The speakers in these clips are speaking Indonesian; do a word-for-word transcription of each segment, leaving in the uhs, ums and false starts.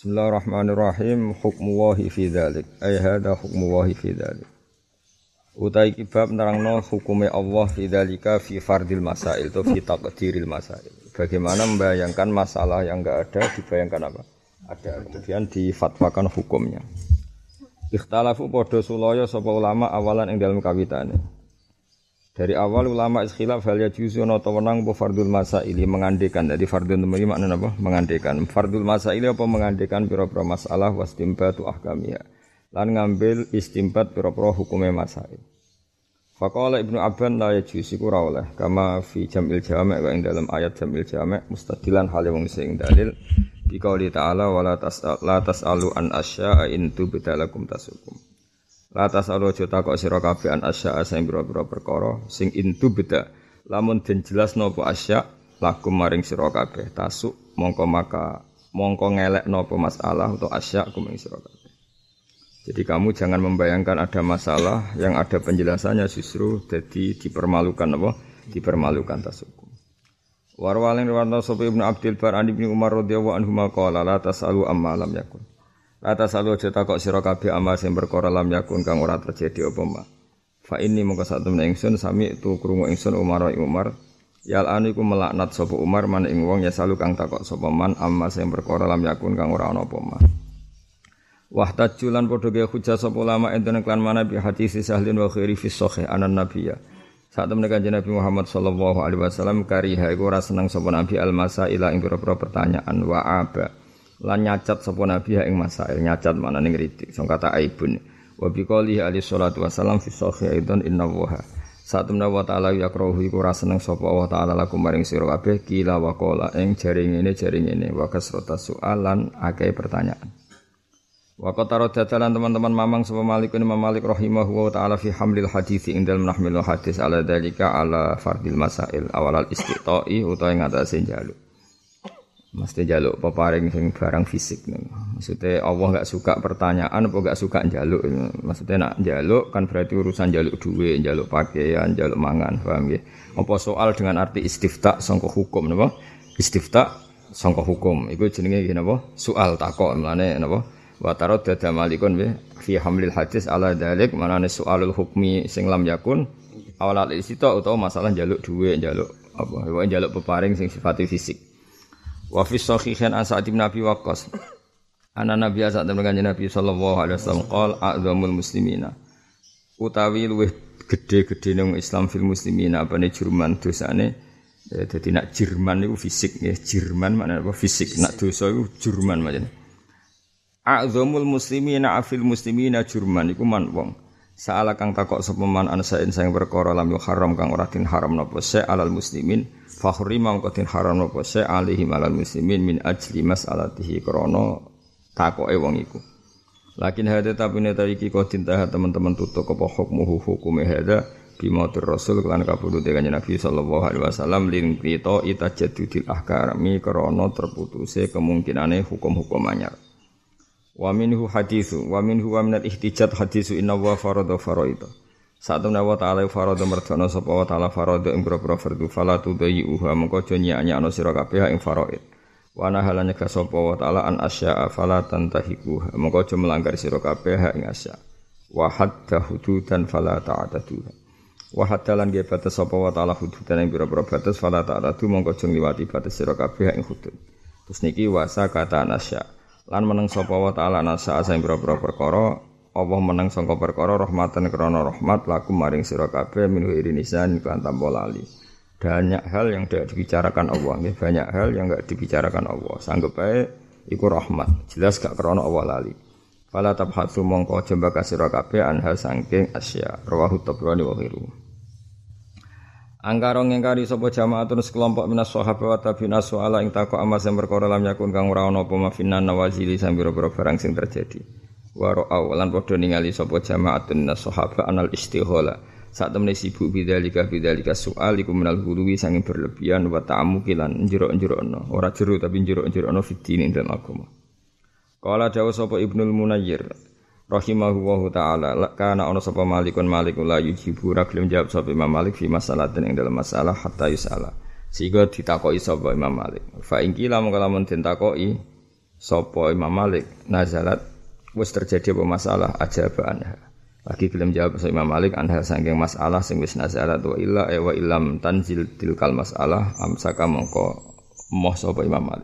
Bismillahirrahmanirrahim. Hukmullahi fi dzalik. Ay hadza hukmullahi fi dzalik. Utai kibab nerangno hukume Allah fi dzalika fi fardil masail atau fi taqdiril masail. Bagaimana membayangkan masalah yang enggak ada dibayangkan apa? Ada. Kemudian difatwakan hukumnya. Ikhtalafu padha sulaya sapa ulama awalan ing dalem kawitane. Dari awal ulama iskhilaf hal yajuzu ana ta wenang apa fardul masaili mengandekan. Jadi fardun temui maknane apa? Mengandekan. Fardul masaili apa mengandekan pira-pira masalah wastimbatu ahkamiyah. Lan ngambil istimbat pira-pira hukume masail. Faqala Ibnu Abban la yajuzu iku ora oleh kama fi jamil jami' wa ing dalam ayat jamil jami' mustadilan hale wong sing dalil bi qouli ta'ala wala tas'al la tas'alu an asya'a in tubtalakum tasukum. La tasalu aja takok sira kabeh an asya sing pira-pira perkara sing intu beda lamun den jelasno apa asya lakum maring sira kabeh tasuk mongko maka mongko ngelekno apa masalah atau asya kuming sira kabeh. Jadi kamu jangan membayangkan ada masalah yang ada penjelasannya justru jadi dipermalukan apa dipermalukan tasukum. Warwalin riwayat sapa Ibnu Abdul Bar an Ibnu Umar radhiyallahu anhu maqala la tasalu amma lam yakun. Lata salu aja takok sira kabeh amal sing perkara lam yakun kang ora terjadi apa ma. Fa inni mongko sak temene ingsun sami tu krungu ingsun Umar Umar yal anu iku melaknat sapa Umar man ing wong ya salu kang takok sapa man amal sing perkara lam yakun kang ora ana apa ma. Wahtajulan padha ge hujjah sapa ulama enten klan mana bi hadis sahlin wa khairi fi sahih anan nabiyya. Sak temene kanjeng Nabi Muhammad sallallahu alaihi wasallam kariha iku ora seneng sapa nabi al masaila ing pira-pira pertanyaan wa aba. Lan nyacat sapa nabi ing masail nyacat manane ngritik sing kata aibun wa biqouli alaihi salatu wasallam fi sahih aidan inna wa satamna wa ta'ala yakrahu iku ora seneng sapa Allah taala lakum maring sira kabeh kila wa qala ing jari ngene jari ngene wa kasrata soalan akeh pertanyaan wa qatara dadalan teman-teman mamang sapa Malik bin Malik rahimahu wa ta'ala fi hamlil hadits ing dalem nahmil hadis ala dalika ala fardil masail awal al istiqai utawa ngatasé njaluk. Mesti jaluk peparing sing barang fisik nih. Maksudnya Allah enggak suka pertanyaan apa enggak suka njaluk. Maksudnya nak njaluk kan berarti urusan njaluk duit, njaluk pakaian, njaluk mangan, paham nggih? Apa soal dengan arti istifta sangka hukum napa? Istifta sangka hukum. Iku jenenge napa? Soal takok mlane napa? Wa tarad dada malikun bi fi hamlil hadis ala dalik manane soalul hukmi sing lam yakun awal istifta utawa masalah njaluk duit, njaluk apa? Wae njaluk peparing sing sifatnya fisik. Wa fi sahihain an Sa'id bin Abi Waqqas ana nabi azza wa jalla Nabi sallallahu alaihi wasallam qol a'zamul muslimina utawi luwih gedhe-gedhe nang Islam fil muslimina apane jurman dosane ya dadi nak Jerman niku fisik nggih Jerman maknane apa fisik nak dosa iku jurman maknane a'zamul muslimina afil muslimina jurman iku man wong saala kang takok sapa man ansain sing perkara lam haram kang ora din haram napa se alal muslimin fakhri mangkotin haram napa se alihi malal muslimin min ajli mas'alatihi krana takoke wong iku. Lakin hada tapine ta iki kok tintah teman-teman tutuk apa hukmuhu hukume hada bimatur rasul lan kabudute kanjeng Nabi sallallahu alaihi wasallam lin qita itajadudil ahkami krana terputuse kemungkinane hukum-hukum anyar. Wa minhu haditsu wa minhu wa minal ihtijat haditsu inna wa farada faraida. Satemene wa ta'ala farada merdana sapa wa ta'ala farada ing pira-pira fardhu fala tudayuha mengko aja nyak-nyakno sira kabeh ing faraid. Wa nahalanya ka sapa wa ta'ala an asya'a fala tantahiku mengko aja melanggar sira kabeh ing asya. Wa hadda hududan fala ta'taduha. Wa haddalan ge batas sapa wa ta'ala hududan ing pira-pira batas fala ta'tadu mengko aja ngliwati batas sira kabeh ing hudud. Terus niki wasa kata asya. Lan meneng sapa wa ta'ala nasa sing pira-pira perkara Allah meneng sangka perkara rahmatan krana rahmat lakum maring sira kabeh minhu irinisan kan tanpa lali. Banyak hal yang tidak dibicarakan Allah nggih banyak hal yang enggak dibicarakan Allah sanggep bae iku rahmat jelas gak krana Allah lali. Fala tabhatsu mongko aja mbaka sira kabeh anha saking asya rawahu tabrani wa ghiru. Angkara ngingkari sapa jamaatun sekelompok minas sahabat wa tabi'in soala ing takok amal sing perkara lam yakun kang ora ana apa mafinan nawazili sambira-bira barang sing terjadi. Wa ra'au lan padha ningali sapa jamaatun minas sahabat anal istighala. Sak temene sibuk bidzalika bidzalika soal iku minal huluwi sanging berlebihan wa ta'ammuki lan njero-njerokno. Ora jero tapi njero-njerokno fitine ing dalem agama. Qala dawu sapa Ibnul Munayyir rahimahullahu ta'ala kana ana sapa malikun malikul la yujibu ra gelem jawab sapa Imam Malik fi masalatin ing dalam masalah hatta yusala sehingga ditakoki sapa Imam Malik fa in kila mongko lamun den takoki sapa Imam Malik nazalat wis terjadi apa masalah ajaba anha. Lagi gelem jawab Imam Malik anha saking masalah sing wis nazalat wa illa e wa illam tanzil tilkal masalah amsaka mongko moh sapa Imam Malik.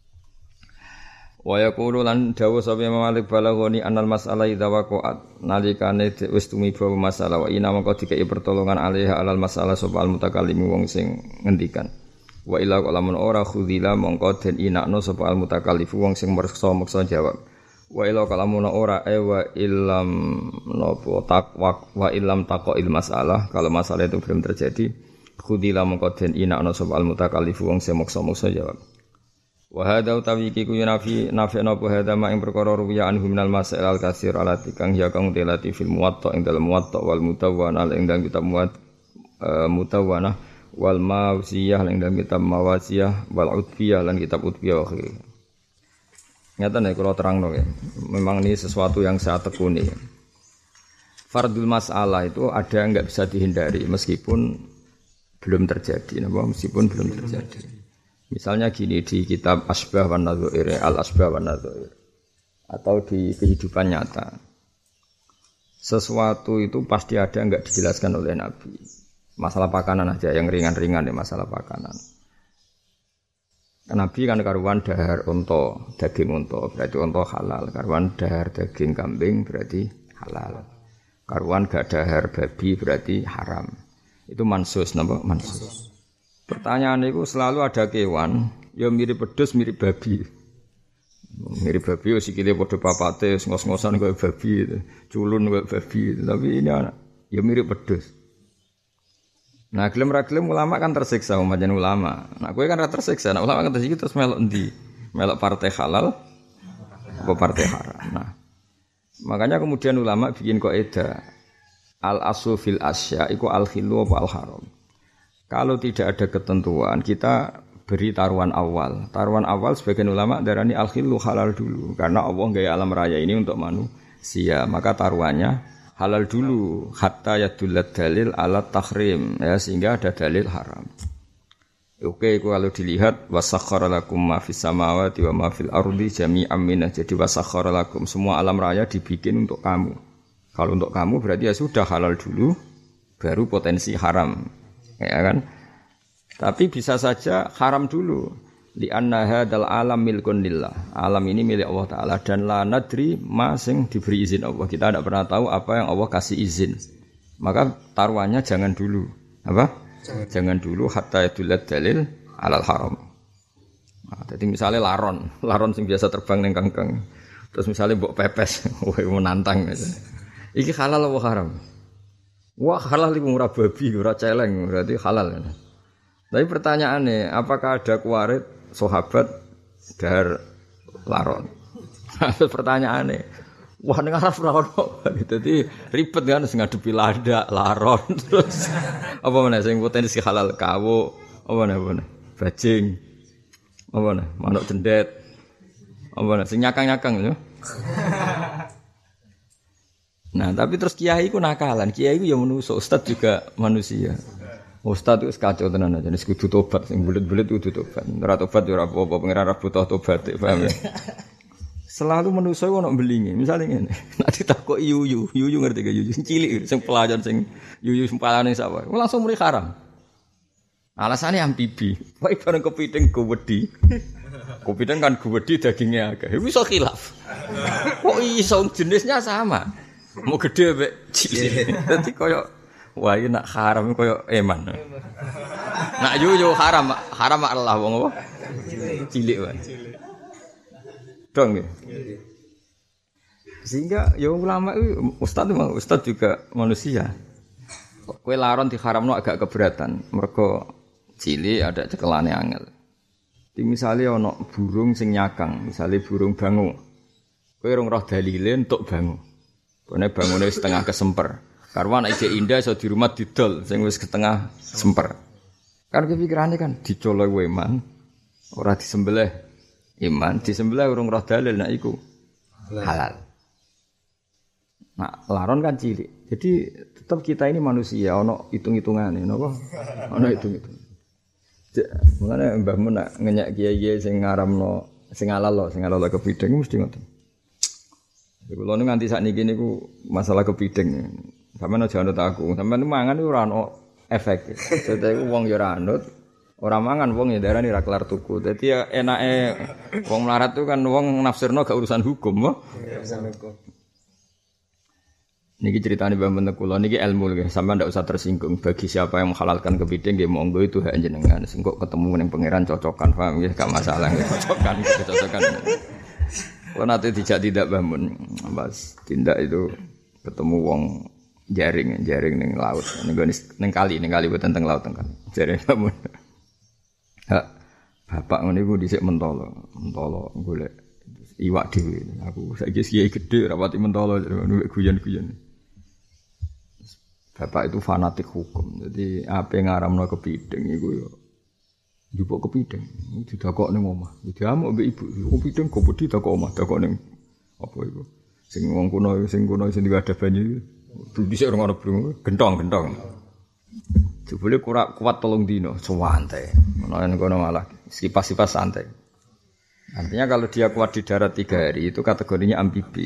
Wa yaqulu lan dawu sapa Imam Malik balaghoni anal masalah idza waqa'at nalikane wis tumiba masalah wa ina mongko dikei pertolongan alaiha alal masalah sapa al mutakallim wong sing ngendikan. Wa illa lamun ora khudila mongko den inakno sapa al mutakallif wong sing meksa-meksa jawab. Wa illa lamun ora e wa illam napa takwa wa illam taqil masalah kalau masalah itu belum terjadi khudila mongko den inakno sapa al mutakallif wong sing meksa-meksa jawab. Wa hadza utawi iki ku nafi nafi napa hadza ma ing perkara ruwiya anhu minal masail al katsir alati kang ya kang telati fil muwatta ing dalem muwatta wal mutawwana ing dalem kitab muwatta mutawwana wal mawsiyah lan dalam kitab mawasiyah wal utbiyah lan kitab utbiyah wa khiri. Nyata nek kula terangno ya. Memang ini sesuatu yang saya tekuni. Fardul mas'alah itu ada enggak bisa dihindari meskipun belum terjadi, napa meskipun belum terjadi. Misalnya gini di kitab Asbah wan Nadzair, Al Asbah wan Nadzair atau di kehidupan nyata. Sesuatu itu pasti ada enggak dijelaskan oleh Nabi. Masalah pakanan aja yang ringan-ringan ya masalah pakanan. Nabi kan karuan dahar unta, daging unta berarti unta halal. Karuan dahar daging kambing berarti halal. Karuan gak dahar babi berarti haram. Itu mansus napa? Mansus. Pertanyaan itu selalu ada kewan, ya mirip pedus mirip babi. Mirip babi sikile padha papate ngos-ngosan kaya babi itu. Culun kaya babi itu. Tapi ini anak ya mirip pedus. Nah, gelem ra gelem ulama kan tersiksa umatnya ulama. Nah, kowe kan ra tersiksa. Nah, ulama kan tersiksa terus melok endi? Melok partai halal apa partai haram. Nah, makanya kemudian ulama bikin kaidah al asu fil asya iku al khilu apa al haram. Kalau tidak ada ketentuan, kita beri taruhan awal. Taruhan awal sebagian ulama darani al khilu halal dulu karena Allah gaya alam raya ini untuk manusia. Maka taruhannya halal dulu hatta yadullat dalil ala tahrim ya sehingga ada dalil haram. Oke, kalau dilihat wasakhkhara lakum ma fis samawati wa ma fil ardi jami'an minhu. Jadi wasakhkhara lakum semua alam raya dibikin untuk kamu. Kalau untuk kamu berarti ya sudah halal dulu baru potensi haram. Ya kan? Tapi bisa saja haram dulu. Li anna hadzal alam milkun lillah. Alam ini milik Allah taala dan la nadri ma sing diberi izin Allah. Kita tidak pernah tahu apa yang Allah kasih izin. Maka taruhannya jangan dulu. Apa? Jangan, jangan dulu hatta yadulat dalil alal haram. Nah, jadi misalnya laron, laron sing biasa terbang ning kangkang. Terus misalnya mbok pepes, wah menantang gitu. Iki halal apa haram? Wah, halal iku ora babi, ora celeng, berarti halal. Tapi pertanyaannya, apakah ada kuarit sahabat dahar laron? Pertanyaannya, wah ning arep ora ono. Dadi ribet kan sing ngadepi landak, laron terus apa meneh sing potensi halal kawu, apa meneh apa meneh? Bajing. Apa meneh? Manuk cendet. Apa meneh sing nyakang-nyakang yo. Nah, tapi terus kiai ku nakalan. Kiai ku ya manusia, ustaz juga manusia. Ustaz itu kacau tenan aja, nek kudu tobat sing bulet-bulet kudu tobat. Ora tobat ya ora apa-apa, pengiran ora butuh tobat, paham ya? Selalu manusa ono mbelinge. Misale ngene, nek ditakoki yuyu, yuyu ngerti gak yuyu sing cilik sing pelajar sing yuyu sing palane sapa. Langsung muni haram. Alasane ambibi. Wae bareng kepiting gowedi. Kepiting kan gowedi dagingnya akeh. Wis iso khilaf. Kok iso jenisnya sama? Mau gede mek cilik. Dadi koyo wah ini nak haram koyo eman. Nak yuyu haram, haram Allah wong apa? Cilik wae. Dong ya. Sehingga ya ulama itu ustaz memang ustaz juga manusia. Kowe laron diharamno agak keberatan. Mergo cilik ada cekelane angel. Di misale ana burung sing nyakang, misale burung bangu. Kowe rong roh dalile entuk bangu. Kene bangune setengah kesemper. Karwan ide indah iso di rumah didol sing wis setengah semper. Kan kepikirane kan dicolok weman ora disembelih iman, disembelih urung roh dalil nek iku halal. Nah, laron kan cilik. Jadi tetap kita ini manusia ono hitung-hitungane napa? Ono hitung-hitung. Mulane Mbah Mun nak ngenyek kiai-kiai sing ngaramno Sing halal lho, sing halal kepiting mesti ngoten. Kulo nu nganti sakniki niku masalah kepiting. Sampeyan aja anut aku. Sampeyan mangan iku ora ono efek. Dadi wong ya ora anut, ora mangan wong ya darani ra kelar tuku. Dadi ya enake wong melarat tuh kan wong nafsirno gak urusan hukum, mo. Urusan hukum. Niki ceritane Mbah Mentek kula niki ilmu nggih, sampeyan ndak usah tersinggung. Bagi siapa yang menghalalkan kepiting nggih monggo itu hak jenengan. Sing kok ketemu ning pangeran cocokan, paham nggih, gak masalah nggih cocokan, cocokan. Kula nate dijak tidak Mbah Mun, Mas tindak itu ketemu wong jaring, jaring ning laut. Ning ning kali, ning kali boten teng laut teng kali. Jaring Mbah Mun. Hak bapak ngene iku dhisik mentolo, mentolo golek iwak dhewe. Aku saiki kiai gedhe rapati mentolo nuwek guyon-guyon. Bapak itu fanatik hukum. Jadi apa yang ngaramno kepiting iku yo njupuk kepiting. Didakok ning omah. Diamuk mbek ibu. Kepiting kok wedi dakok omah, dakok ning apa iku? Sing wong kuno sing kuno sing ada banyu. Dhisik ora ono brung, gentong-gentong. Jebule kurak kuat telung dino, santai. Menawa kono malah sipas-sipas santai. Artinya kalau dia kuat di darat tiga hari itu kategorinya amfibi.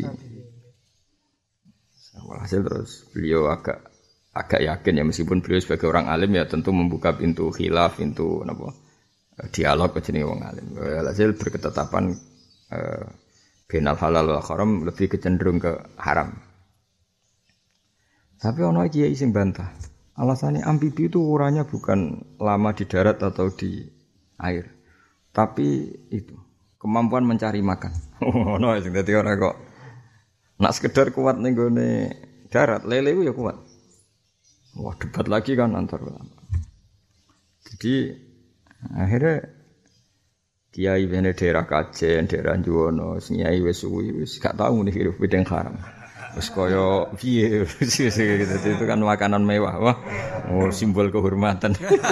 Hasil terus beliau agak agak yakin ya meskipun beliau sebagai orang alim ya tentu membuka pintu khilaf, pintu apa dialog jenenge wong alim. Hasil berketetapan eh, bainal halal wal haram lebih kecenderung ke haram. Tapi ono kiai sing bantah. Alasannya amfibi itu ukurannya bukan lama di darat atau di air. Tapi itu kemampuan mencari makan. Ono sing dadi ora kok nak sekedar kuat ning gone darat, lele ku ya kuat. Wah, debat lagi kan antar ulama. Jadi akhirnya kiai bene daerah Kajen, daerah Juwono, kiai wis suwi wis gak tau nih hidup bidang haram. Wis kaya piye gitu itu kan makanan mewah. Wah, oh, simbol kehormatan.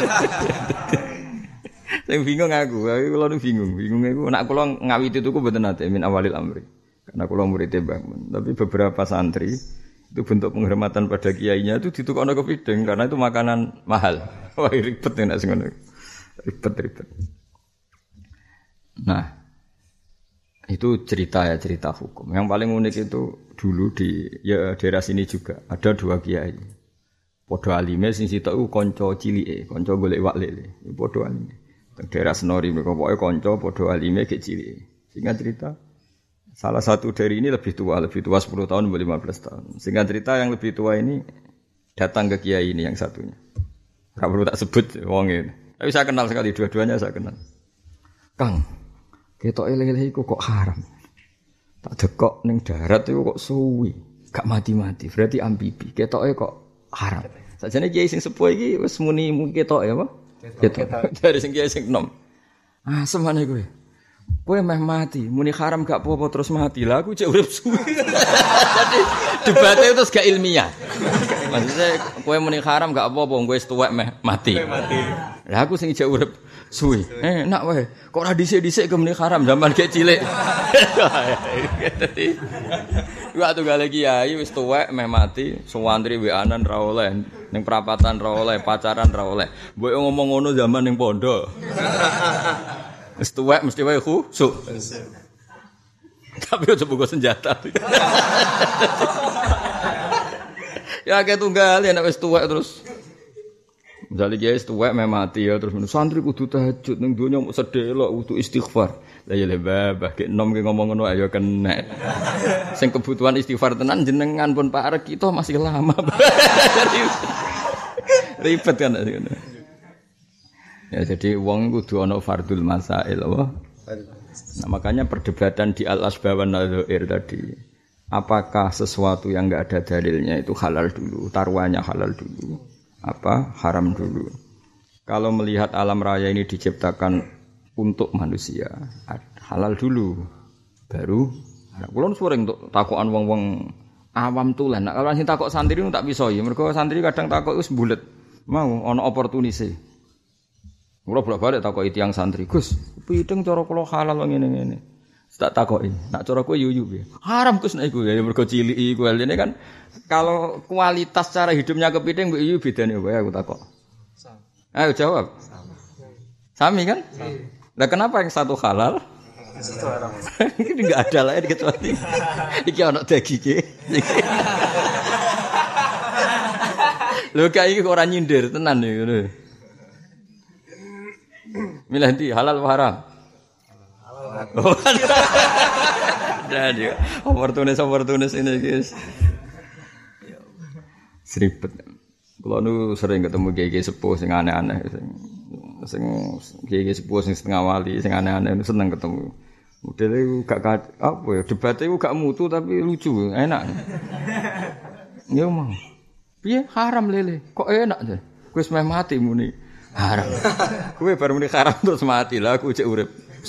Saya bingung aku, aku kula nu bingung, bingung aku nek kula ngawiti tuku mboten nate min awalil amri. Karena kula murid Mbah, tapi beberapa santri itu bentuk penghormatan pada kiainya itu ditukokno kepiting karena itu makanan mahal. Wah, ribet nek sing ngono. Ribet-ribet. Nah, itu cerita ya, cerita hukum. Yang paling unik itu dulu di ya daerah sini juga ada dua kiai. Padha alime sing sitok iku kanca cilike, kanca golek wak lele. Padha alime. Teng daerah Senori mereka pokoke kanca padha alime gek cilike. Singkat cerita salah satu dari ini lebih tua, lebih tua sepuluh tahun, lima belas tahun. Singkat cerita yang lebih tua ini datang ke kiai ini yang satunya. Enggak perlu tak sebut wong ini. Tapi saya kenal sekali dua-duanya saya kenal. Kang, ketok lele iku kok haram. Tak dekok ning darat iku kok suwi, gak mati-mati. Berarti amfibi. Ketoke kok haram. Sajane kiai sing sepuh iki wis muni mung ketoke apa? Ketok. Dari sing kiai sing enom. Ah, semane kowe. Kowe meh mati, muni haram gak apa-apa terus mati. Lah aku cek urip suwi. Jadi debatnya itu gak ilmiah. Maksudnya kowe muni haram gak apa-apa kowe wis tuwek meh mati. Lah aku sing cek urip suwi. Eh enak wae. Kok ora dhisik-dhisik ke muni haram zaman gek cilik. Dadi waktu gale kiai wis tuwek meh mati, suwantri weanan ra oleh, ning perapatan ra oleh, pacaran ra oleh. Mbok ngomong ngono zaman ning pondok. Wis tuwek mesti wae khusuk. Tapi aja buka senjata. Ya kayak tunggal ya nek wis tuwek terus. Misale kiai wis tuwek meh mati ya terus santri kudu tahajud ning donya mok sedelok kudu istighfar. Lah ya le babah gek enom ki ngomong ngono ayo kena. Sing kebutuhan istighfar tenan jenengan pun parek kita masih lama. Ribet kan ngono. Ya jadi wong kudu ana fardul masail apa? Nah, makanya perdebatan di al-asbab wan nadzair tadi. Apakah sesuatu yang enggak ada dalilnya itu halal dulu, taruhannya halal dulu, apa haram dulu. Kalau melihat alam raya ini diciptakan untuk manusia, halal dulu baru haram. Kulo sering untuk takokan wong-wong awam tulen. Nek kalau sing takok santri nu tak bisa ya. Mergo santri kadang takok wis bulet. Mau ana opportunity. Kulo bolak-balik takoki tiyang santri, "Gus, piting cara kula halal ngene-ngene." Tak takoki, "Nak cara kowe yuyu piye?" "Haram Gus nek iku." Ya mergo cilik iku. Ini kan kalau kualitas cara hidupnya kepiting mbek yuyu bedane wae aku takok. Sama. Ayo jawab. Sama. Sami kan? Lah kenapa yang satu halal, Ini enggak ada lah kecuali iki ana dagige. Lho kae iki ora nyindir tenan ngono. Milih ndi halal apa haram? Halal. Jadi opportunis opportunis ini guys. Seribet. Kalau nu sering ketemu kiai sepuh sing aneh-aneh sing sing kiai sepuh sing setengah wali sing aneh-aneh seneng ketemu. Modele gak apa ya debatnya gak mutu tapi lucu, enak. Ya mau. Piye haram lele? Kok enak aja? Wis meh mati muni haram. Kowe baru muni haram terus mati lah aku cek urip.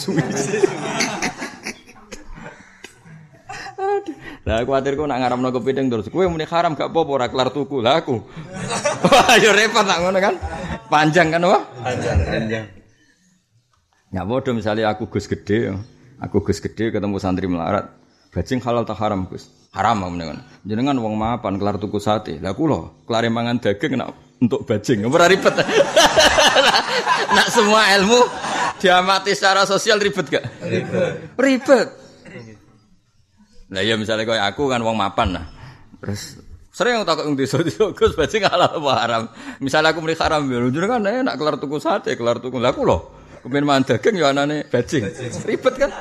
Lah kuwatirku nak ngaramno kepiting terus kowe muni haram gak apa-apa ora kelar tuku lah aku. Wah yo repot nak ngono kan. Panjang kan wah? Panjang, panjang. Ya padha misale aku Gus Gede, aku Gus Gede ketemu santri melarat. Bajing halal tak haram Gus? Haram menengan. Jenengan wong mapan kelar tuku sate. Lah kula kelar mangan daging nak untuk bajing. Ora ribet. Nak semua ilmu diamati secara sosial ribet gak? Ribet. Ribet. Lah ya misalnya koyo aku kan wong mapan nah. Terus sering takok ning desa-desa Gus bajing halal apa haram. Misalnya aku muni haram ya jenengan enak kelar tuku sate, kelar tuku. Lah kula kepen mangan daging ya anane bajing. Ribet kan?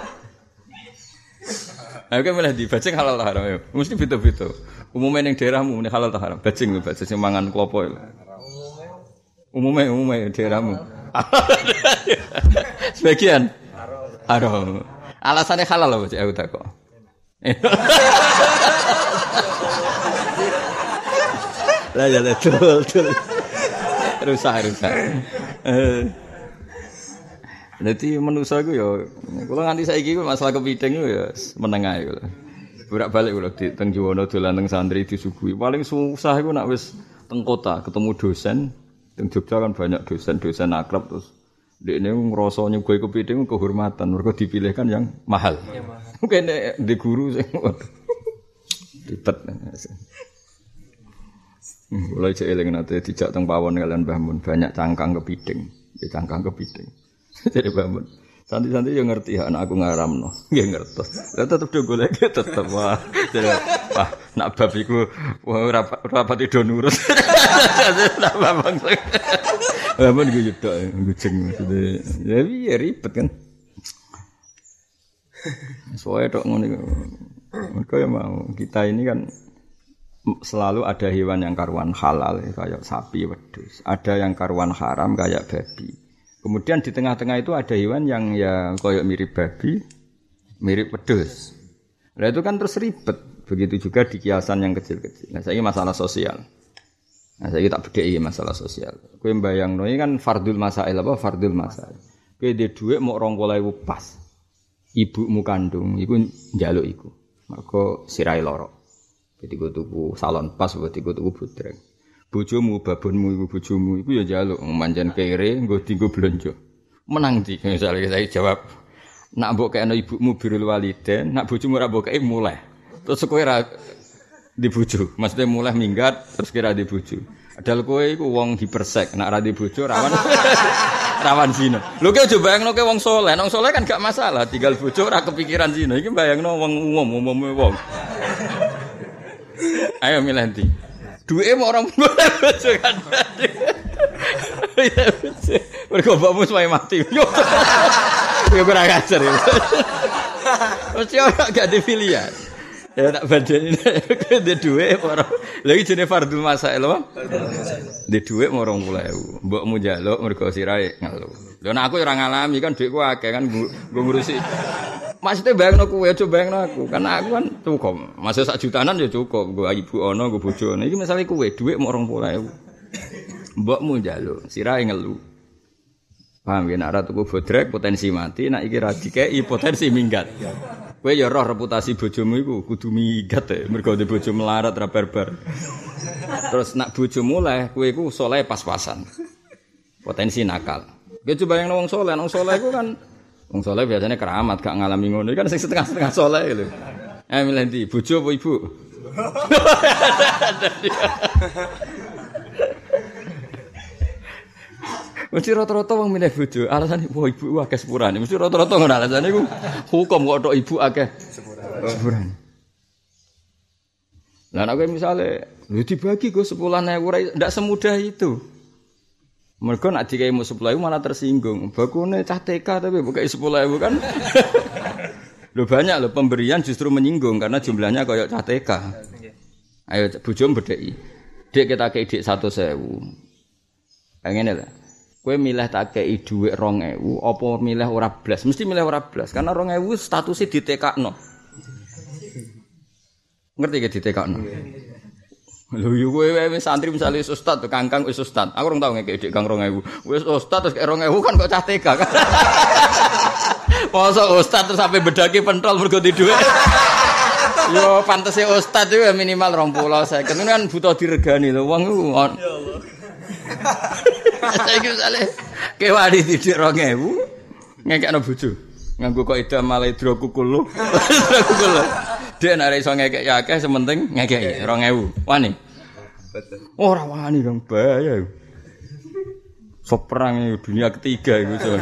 Aku malah di bajing halal tak haram ya. Mesti beda-beda. Umumnya ning daerahmu muni halal tak haram. Bajing lho bajing sing mangan klopo lho. Umumnya umumnya daerahmu. Sebagian haram. Alasannya halal lho Cik aku takok. Lah ya betul betul. Rusak rusak. Eh. Dadi manusa iku ya kula nganti saiki masalah kepiting ya meneng ae kula. Bolak-balik kula di teng Juwono dolan teng santri disuguhi. Paling susah iku nek wis teng kota ketemu dosen. Teng Jogja kan banyak dosen-dosen akrab terus dekne ngrasa nyuguhi kepiting kehormatan mergo dipilihkan yang mahal. Mungkin di guru sing ribet. Mulai cek eling nate dijak teng pawon kalian Mbah Mun banyak cangkang kepiting, ya cangkang kepiting. Jadi Mbah Mun santi-santi yo ngerti hak anak aku ngaramno. Nggih ngertos. Lah tetep do golek tetep wah. Wah, nak bab iku ora rapat do nurut. Nak babang. Mbah Mun iku yo tok ngucing maksude. Ya piye ribet kan. Soalnya tok ngono iku. Mergo ya mau kita ini kan selalu ada hewan yang karuan halal kayak sapi, wedhus. Ada yang karuan haram kayak babi. Kemudian di tengah-tengah itu ada hewan yang ya kayak mirip babi, mirip wedhus. Nah itu kan terus ribet. Begitu juga di kiasan yang kecil-kecil. Nah saya ini masalah sosial. Nah saya tak bedheki masalah sosial. Kowe mbayangno iki kan fardul masail apa fardul masail. Kowe dhe dhuwit mok rong puluh ribu pas. Ibumu kandung iku njaluk iku. Mergo sirahe lara. Jadi gue tuku salon pas, buat gue tuku budreng. Bojomu, babonmu, ibu bojomu, ibu ya jaluk manjan kere, gue tinggu belanja. Menang di, misalnya saya jawab, nak mbok kena ibumu birrul walidain, nak bojomu ora mbok kei mulai. Terus kowe ra di bojo, maksudnya mulai minggat, terus kira di bojo. Adal kowe iku wong hipersek, nak ra di bojo rawan rawan zina. Lho kowe aja bayangno kowe wong saleh, wong saleh kan gak masalah, tinggal bojo ora kepikiran zina. Iki bayangno wong umum, umume wong. Ayo milih ndi? Duwe mau orang boleh bojo kan. Mergo bapakmu sampe mati. Yo ora ngajar ya. Mesti ora gak di pilihan. Ya tak badani nek duwe ora. Lha iki jenenge fardhu masail apa? Di duwe mau rong puluh ribu. Mbokmu njaluk mergo sirahe ngeluh. Lha nek aku ora ngalami kan dhuwitku akeh kan nggo ngurusi. Maksudnya bayangno kowe aja bayangno aku. Karena aku kan cukup. Masih sak jutanan ya cukup. Nggo ibu ana, nggo bojo ana. Iki misale kowe dhuwit mok rong puluh ribu. Mbokmu njaluk, sirahe ngelu. Paham ya nek ora tuku bodrek potensi mati, nek iki ra dikeki potensi minggat. Kowe ya roh reputasi bojomu iku kudu minggat ya. Mergo de bojo melarat ra barbar. Terus nek bojo mulai, kowe iku saleh pas-pasan. Potensi nakal. Kowe coba bayangno wong saleh, wong saleh iku kan wong saleh biasanya keramat, gak ngalami ngono. Kan sing setengah-setengah saleh lho. Eh milih ndi, bojo apa ibu? Mesti rata-rata wong milih bojo, alasane wah ibu akeh sepurane. Mesti rata-rata ngono alasane iku hukum kok tok ibu akeh sepurane. Lah nek misale lho dibagi go sepuluh ribu ora ndak semudah itu. Mergo nek dikaimu sepuluh ribu malah tersinggung. Bakune cah T K tapi bukai sepuluh ribu kan. Lho banyak lho pemberian justru menyinggung karena jumlahnya kayak cah T K. Ayo bojom bedheki. Dik kita kei dik seratus ribu. Ngene lho. Kowe milih tak kei dhuwit dua ribu apa milih ora blas? Mesti milih ora blas karena dua ribu statusnya ditekakno. Ngerti ge ditekakno. Lho yo kowe wis santri misale wis ustaz to Kangkang wis ustaz. Aku ora tau ngekek dik Kang dua ribu. Wis ustaz terus kek dua ribu kan kok cah T K kan. Masa ustaz terus sampai bedaki pentol mergo di dhuwit. Yo pantese ustaz itu minimal dua puluh saya kan butuh diregani lho wong iku. Ya Allah. Saiki misale kewani didik dua ribu ngekekno bojo. Nganggo kok ida malah hidrokukul lho. Hidrokukul. Dek nek iso ngekek ya akeh sementing ngekeki dua ribu. Wani. Ora wani dong bahaya. Sok perang dunia ketiga iku.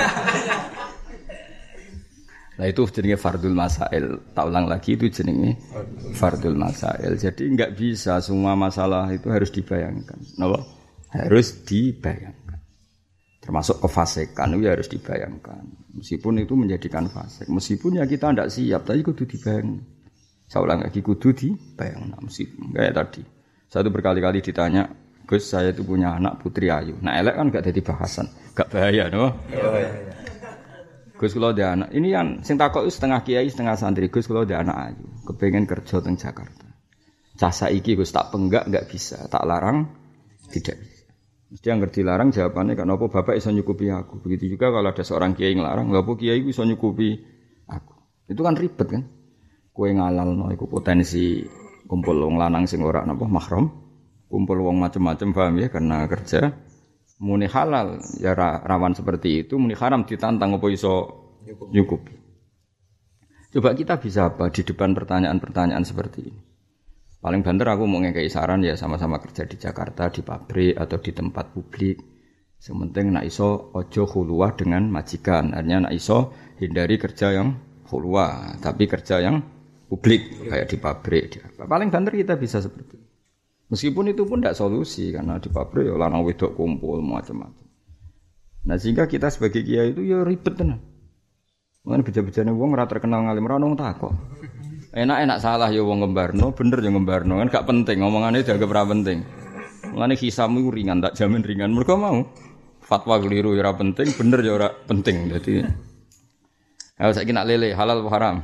Nah itu jenenge fardul masail. Tak ulang lagi itu jenenge fardul masail. Jadi enggak bisa semua masalah itu harus dibayangkan. Napa? Harus dibayangkan. Termasuk kefasikan itu harus dibayangkan. Meskipun itu menjadikan fasik. Meskipun ya kita tidak siap, tapi kudu dibayangkan. Saya ulang lagi kudu dibayangkan. Meskipun kayak tadi. Satu berkali-kali ditanya, Gus saya itu punya anak putri ayu. Nah elek kan gak jadi bahasan. Gak bahaya, no? Ya, Gus kula ada anak. Ini yang sing takok itu setengah kiai, setengah santri. Gus kula ada anak ayu, kepengen kerja teng Jakarta. Cah saiki Gus tak penggak enggak bisa, tak larang tidak bisa. Mesti yang ngerti larang jawabannya kenapa bapak iso nyukupi aku. Begitu juga kalau ada seorang kiai ngelarang, ngapa kiai iso nyukupi aku. Itu kan ribet kan. Kowe ngalalno iku potensi kumpul wong lanang sing ora napa mahram, kumpul wong macam-macam paham ya karena kerja. Muni halal ya rawan seperti itu, muni haram ditantang apa iso nyukupi. Coba kita bisa apa di depan pertanyaan-pertanyaan seperti ini. Paling banter aku mau ngekei saran ya sama-sama kerja di Jakarta, di pabrik atau di tempat publik. Sementing nak iso ojo khuluwah dengan majikan. Artinya nak iso hindari kerja yang khuluwah, tapi kerja yang publik kayak di pabrik. Di apa. Paling banter kita bisa seperti itu. Meskipun itu pun tidak solusi karena di pabrik ya lanang wedok kumpul macam-macam. Nah sehingga kita sebagai kiai itu ya ribet tenan. Mungkin beja-bejane wong ora terkenal ngalim ora ono takok. Enak-enak salah ya wong ngembarno, bener ya ngembarno kan gak penting ngomongane dianggap ora penting. Mulane hisamu ringan tak jamin ringan. Mergo mau fatwa keliru ya ora penting, bener ya ora penting. Dadi ayo saiki nak lele halal apa haram?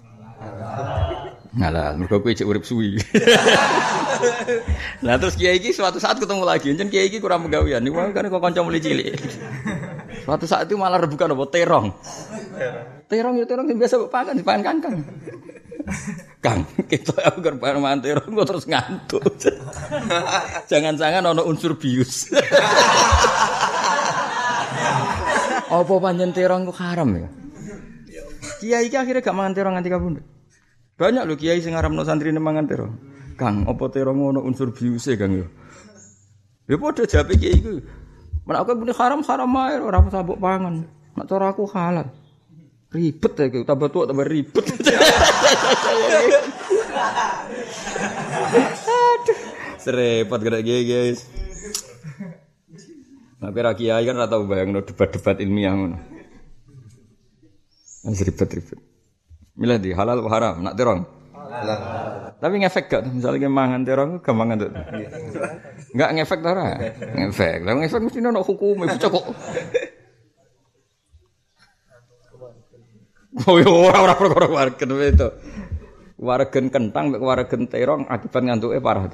Halal. Mergo kowe cek urip suwi. Nah terus kiai iki suatu saat ketemu lagi, jen kiai iki kurang penggawean. Niku kan kok kanca mulai cilik. Suatu saat itu malah rebukan apa terong. Terong ya terong sing biasa pakan dipangan Kangkang. Kang, kita aku kerban mangan terong kok terus ngantuk. Jangan-jangan ana unsur bius. Apa panjen terong kok haram ya? Kiai iki akhirnya gak mangan terong nganti kabundut. Banyak lho kiai sing ngaramno santrine mangan terong. Kang, apa terong ono unsur biuse Kang yo? Ya padha jawabe kiai iku. Menak aku muni haram-haram ae ora usah mbok pangan. Nek cara aku halal. Ribet ya iku, tambah tuwa tambah ribet. Aduh, serepot gerak kiai guys. Nek kira kiai kan ora tau bayangno debat-debat ilmiah ngono. Wis ribet-ribet. Milih di halal apa haram? Nak terong? Halal. Tapi ngefek gak? Misalnya mangan terong, gampang tuh. Enggak ngefek ta ora? Ngefek. Lah ngefek mesti ono hukum, bocah kok. Oh yo ora ora perkara wargen itu. Wargen kentang mek wargen terong akibat ngantuke parah.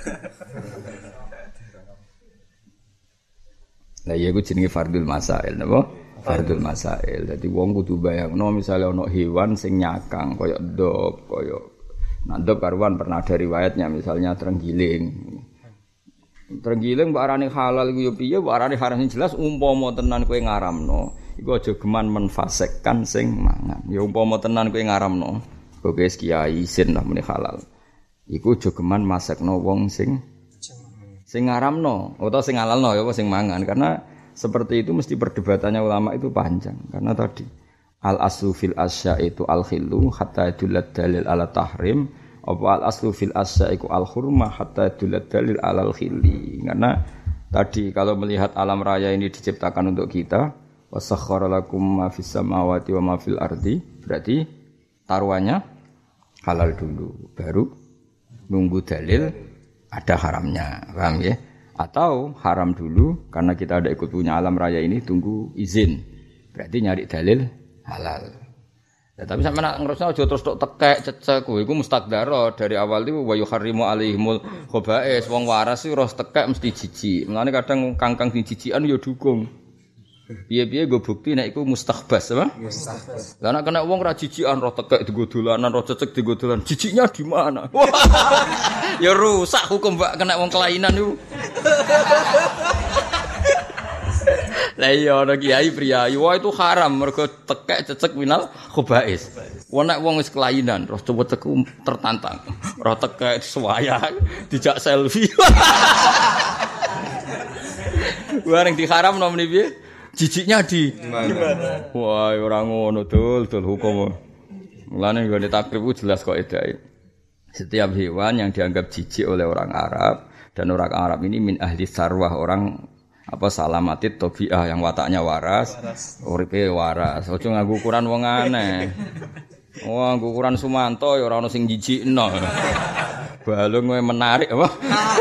Lah iya ku jenenge fardul masail napa? Fardul masail. Dadi wong kudu bayangno misale ana hewan sing nyakang kaya ndop, kaya nandop karuan pernah ada riwayatnya misalnya terenggiling. Terenggiling mbok arane halal iku yo piye, mbok arane haram sing jelas umpama tenan kowe ngaramno, iku aja geman menfasekkan sing mangan. Ya umpama tenan kowe ngaramno, kowe wis kiai isin lah muni halal. Iku aja geman masekno wong sing sing ngaramno utawa sing halalno ya apa sing mangan karena seperti itu mesti perdebatannya ulama itu panjang karena tadi al aslu fil asya itu al khillu hatta yadullat dalil ala tahrim apa al aslu fil asya itu al hurmah hatta yadullat dalil ala al khilli karena tadi kalau melihat alam raya ini diciptakan untuk kita wasakhkhara lakum ma fis samawati wa ma fil ardi berarti taruhannya halal dulu baru nunggu dalil ada haramnya paham ya atau haram dulu karena kita ada ikut punya alam raya ini tunggu izin berarti nyari dalil halal. Ya, tapi sampe nak ngrusno aja terus tok tekek cecek kuwi iku mustaqdaro dari awal itu wa yuharrimu alaihimul khaba'is wong waras iki ros tekek mesti jijik. Mulane kadang kangkang sing jijikan ya dukung. Piye-piye go bukti nek iku mustahbas apa? Mustahbas. Lah nek kena wong ra jijikan roh tekek digo dolanan roh cecek digo dolan. Jijiknya di mana? Ya rusak hukum Mbak kena wong kelainan iku. Lah iya ana kiai priyayi wah itu haram mergo tekek cecek minal khaba'is. Wong nek wong wis kelainan terus coba teku tertantang. Roh tekek suwaya dijak selfie. Bareng diharamno meneh piye? Jijiknya di mana? Wah, ora ngono dul, dul hukum. Mulane nggone takrib jelas kok edae. Setiap hewan yang dianggap jijik oleh orang Arab dan orang Arab ini min ahli sarwah orang apa salamatit tabi'ah yang wataknya waras, uripe waras. Ojo nganggo ukuran wong aneh. Wah, nganggo ukuran Sumanto ya ora ono sing jijikno. Balung kowe menarik apa?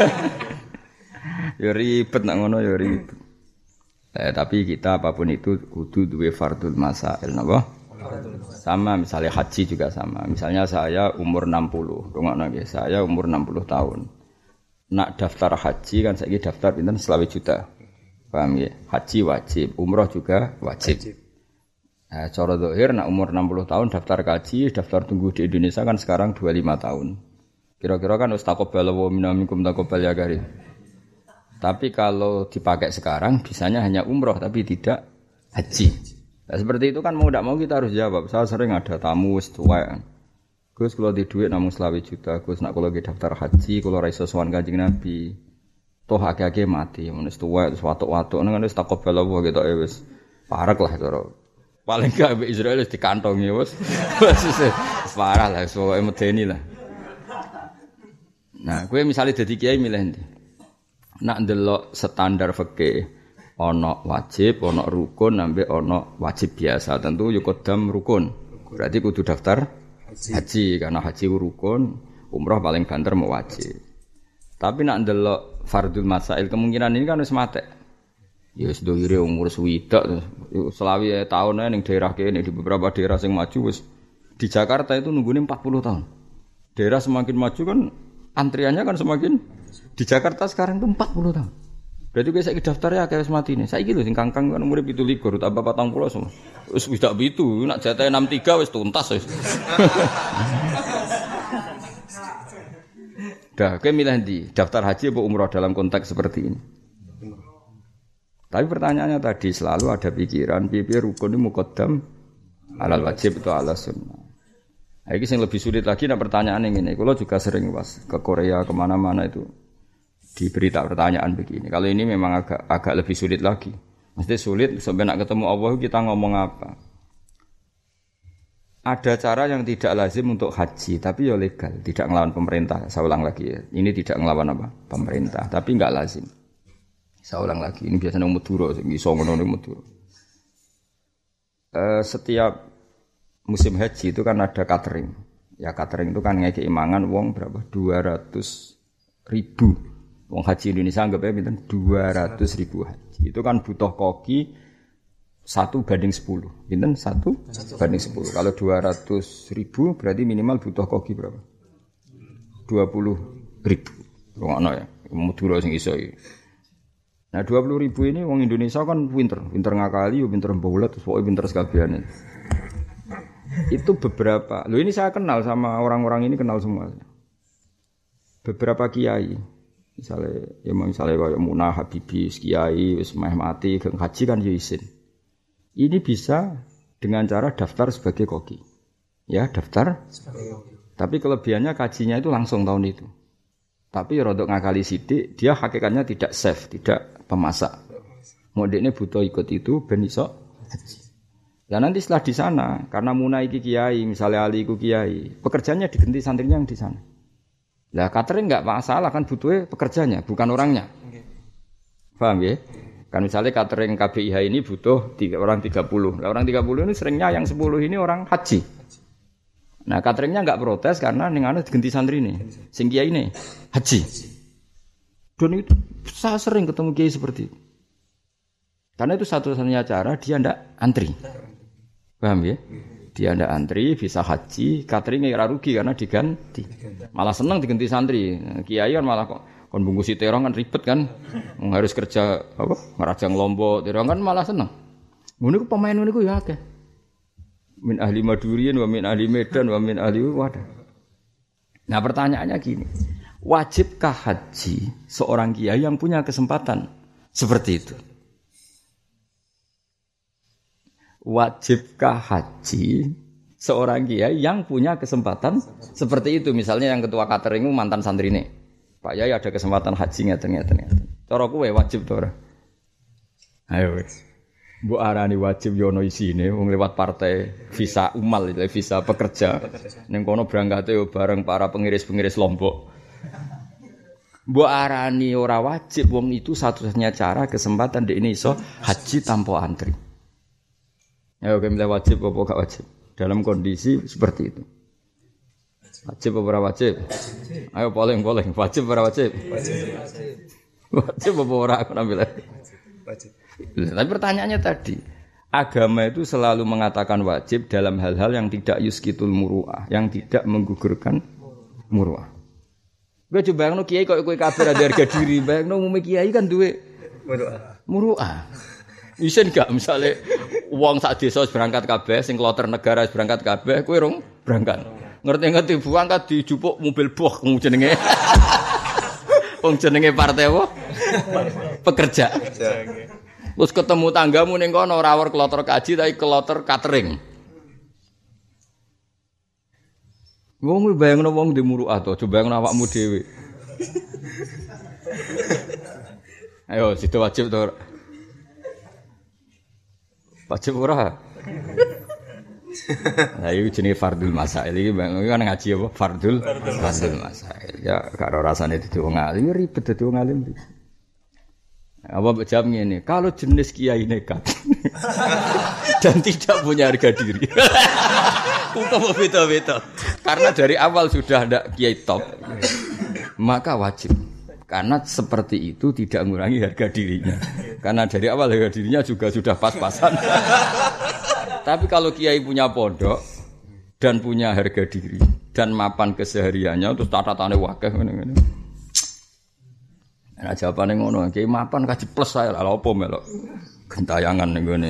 Ya ribet nak ngono ya ribet. Eh, tapi kita apapun itu kudu duwe fardul masail napa? Sama misalnya haji juga sama. Misalnya saya umur enam puluh, rungokno nggih. Saya umur enam puluh tahun. Nak daftar haji kan saiki daftar pinten selawe juta. Paham ya? Haji wajib, umroh juga wajib. wajib. Nah, cara zahir nak umur enam puluh tahun daftar haji, daftar tunggu di Indonesia kan sekarang dua puluh lima tahun. Kira-kira kan wis taqabbal wa minkum taqabbal ya karim. Tapi kalau dipakai sekarang bisanya hanya umroh tapi tidak haji. Nah, seperti itu kan mau tidak mau kita harus jawab. Saya sering ada tamu setuai. Gus kalau di duit namun selawe juta. Gus nak kalau di daftar haji kalau raiso sowan Kanjeng Nabi. Toh akeh-akeh mati. Mun setuai terus watuk-watuk nang wis taqabbal Allah gitu ya wis. Parek lah cara. Paling gak Israel wis dikantongi wis. Wis parah lah pokoke medeni lah. Nah, kowe misalnya dadi kiai milih ndi? Nak ndelok standar fikih ana wajib, ana rukun, ambek ana wajib biasa. Tentu yo kodam rukun. Berarti kudu daftar haji, haji karena haji rukun, umrah paling banter mau wajib. Tapi nak ndelok fardul masail kemungkinan ini kan wis matek. Ya wis dohire umur swidak selawi tahun ae ning daerah kene di beberapa daerah sing maju wis di Jakarta itu nunggune empat puluh tahun. Daerah semakin maju kan antriannya kan semakin di Jakarta sekarang itu empat puluh tahun. Berarti kowe saiki daftar ya akeh wis matine. Saiki lho sing kangkang kan umure tujuh puluh lima tambah patang puluh semua. Wis wis dak pitu, nak jatah enam puluh tiga wis tuntas wis. Dah, kowe milih ndi? Daftar haji apa umrah dalam konteks seperti ini? Tapi pertanyaannya tadi selalu ada pikiran piye-piye rukun ini muqaddam alal wajib atau ala sunnah. Nah, ini yang lebih sulit lagi nah pertanyaan yang ini. Kalau juga sering pas ke Korea kemana-mana itu diberi tak pertanyaan begini. Kalau ini memang agak agak lebih sulit lagi. Mesti sulit sampai nak ketemu Allah kita ngomong apa? Ada cara yang tidak lazim untuk haji, tapi ya legal, tidak ngelawan pemerintah. Saya ulang lagi ya. Ini tidak ngelawan apa? Pemerintah, tapi enggak lazim. Saya ulang lagi. Ini biasanya Madura, iso ngono Madura. Eh setiap musim haji itu kan ada catering. Ya catering itu kan ngekei mangan wong berapa? dua ratus ribu. Wong haji Indonesia anggapnya pinten dua ratus ribu haji. Itu kan butuh koki satu banding sepuluh. Pinten satu banding sepuluh. Kalau dua ratus ribu berarti minimal butuh koki berapa? dua puluh ribu. Ngono ya. Madura sing iso iki. Nah dua puluh ribu ini wong Indonesia kan pinter, pinter ngakali, pinter mbaulet, pokoknya pinter sekalian. Itu beberapa. Loh ini saya kenal sama orang-orang ini kenal semua. Beberapa kiai, misalnya, ya misalnya kayak Munah Habibi, kiai, wis meh mati, geng haji kan yo isin. Ini bisa dengan cara daftar sebagai koki, ya daftar. Sebagai koki. Tapi kelebihannya kajinya itu langsung tahun itu. Tapi rodok ngakali sidik, dia hakikatnya tidak chef, tidak pemasak. Mau dekne butuh ikut itu ben iso haji. Lah nanti setelah di sana, karena Munai iki kiai, misalnya Ali iku kiai, pekerjaannya diganti santrinya yang di sana. Lah catering enggak masalah kan butuhnya pekerjanya, bukan orangnya. Okay. Paham ya? Kan misalnya catering K B I H ini butuh tiga, orang tiga puluh. Lah orang tiga puluh ini seringnya yang sepuluh ini orang haji. Nah cateringnya enggak protes karena ning anu diganti santri ini. Sing kiai ini haji. Dan itu saya sering ketemu kiai seperti itu. Karena itu satu-satunya cara dia ndak antri. Paham ya? Dia ndak antri bisa haji, cateringnya ora rugi karena diganti. Malah seneng diganti santri. Kiai kan malah kok kon bungkusi terong kan ribet kan. Harus kerja apa? Ngerajang lombok, terong kan malah seneng. Ngono ku pemain ngono ku ya akeh. Min ahli Madurian wa min ahli Medan wa min ahli Wadah. Nah, pertanyaannya gini. Wajibkah haji seorang kiai yang punya kesempatan seperti itu? Wajibkah haji seorang kiai yang punya kesempatan seperti itu? Misalnya yang ketua catering mantan santri ini, Pak Yai ada kesempatan haji ngeten-ngeten. Cara kowe wajib to ora? Ayo wis. Mbok arani wajib yo ono isine wong lewat partai visa umal itu visa pekerja. Ning kono berangkate yo bareng para pengiris-pengiris Lombok. Mbok arani ora wajib wong itu satu-satunya cara kesempatan dek ini iso haji tanpa antri. Ya oke, milih wajib apa gak wajib? Dalam kondisi seperti itu. Wajib apa ora wajib? Ayo polling-polling, wajib apa ora wajib? Wajib. Wajib apa ora aku ambil. Wajib. Tapi pertanyaannya tadi, agama itu selalu mengatakan wajib dalam hal-hal yang tidak yuskitul muru'ah, yang tidak menggugurkan muru'ah. Kowe coba bayangno kiai kok kowe kabeh ada harga diri, bayangno umum kiai kan duwe muru'ah. Muru'ah. Isen gak misale wong sak desa berangkat kabeh sing kloter negara berangkat kabeh kowe rong berangkat. Ngerti-ngerti berangkat dijupuk mobil boh jenenge. Wong jenenge partai apa? Pekerja. Terus ketemu tanggamu ning kono ora wer kloter kaji tapi kloter catering. Wong bayangno wong di muru'ah to, coba bayangno awakmu dhewe. Ayo situ wajib to. Wajib ora? Lah iki jenenge fardul masail iki kan ngaji apa? Fardul fardul masail. Ya karo rasane dadi wong alim ribet dadi wong alim. Apa jawab ngene, kalau jenis kiai nekat dan tidak punya harga diri. Hukum beda-beda. Karena dari awal sudah ada kiai top. Maka wajib. Karena seperti itu tidak mengurangi harga dirinya. Karena dari awal harga dirinya juga sudah pas-pasan. Tapi kalau kiai punya pondok dan punya harga diri dan mapan kesehariannya terus tatatane wakeh ngene-ngene. Nah jawabane ngono, kiai mapan kaji plus saya lha opo melok gentayangan ning ngene.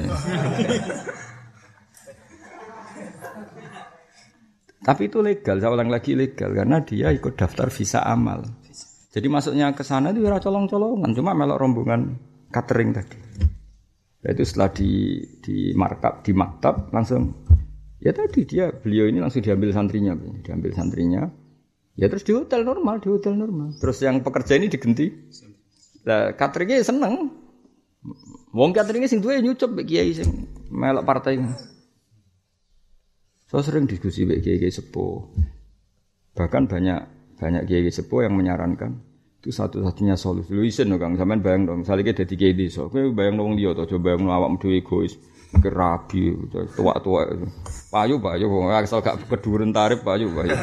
Tapi itu legal, saya ulang lagi legal karena dia ikut daftar visa amal. Jadi masuknya ke sana itu ora colong-colongan, cuma melok rombongan catering tadi. Nah, itu setelah di di markab di maktab langsung ya tadi dia beliau ini langsung diambil santrinya, diambil santrinya. Ya terus di hotel normal, di hotel normal. Terus yang pekerja ini diganti. Lah cateringnya seneng. Wong cateringnya sing duwe nyucup mek kiai sing melok partai. So sering diskusi mek kiai-kiai sepuh. Bahkan banyak banyak kiai sepuh yang menyarankan itu satu-satunya solusi. Lu isen lho Kang, sampean bayang dong, misale iki dadi kiai desa, kowe bayang wong liya to, coba bayang awakmu dhewe egois, kerabi, tua-tua. Payu payu wong asal gak keduren tarif payu payu.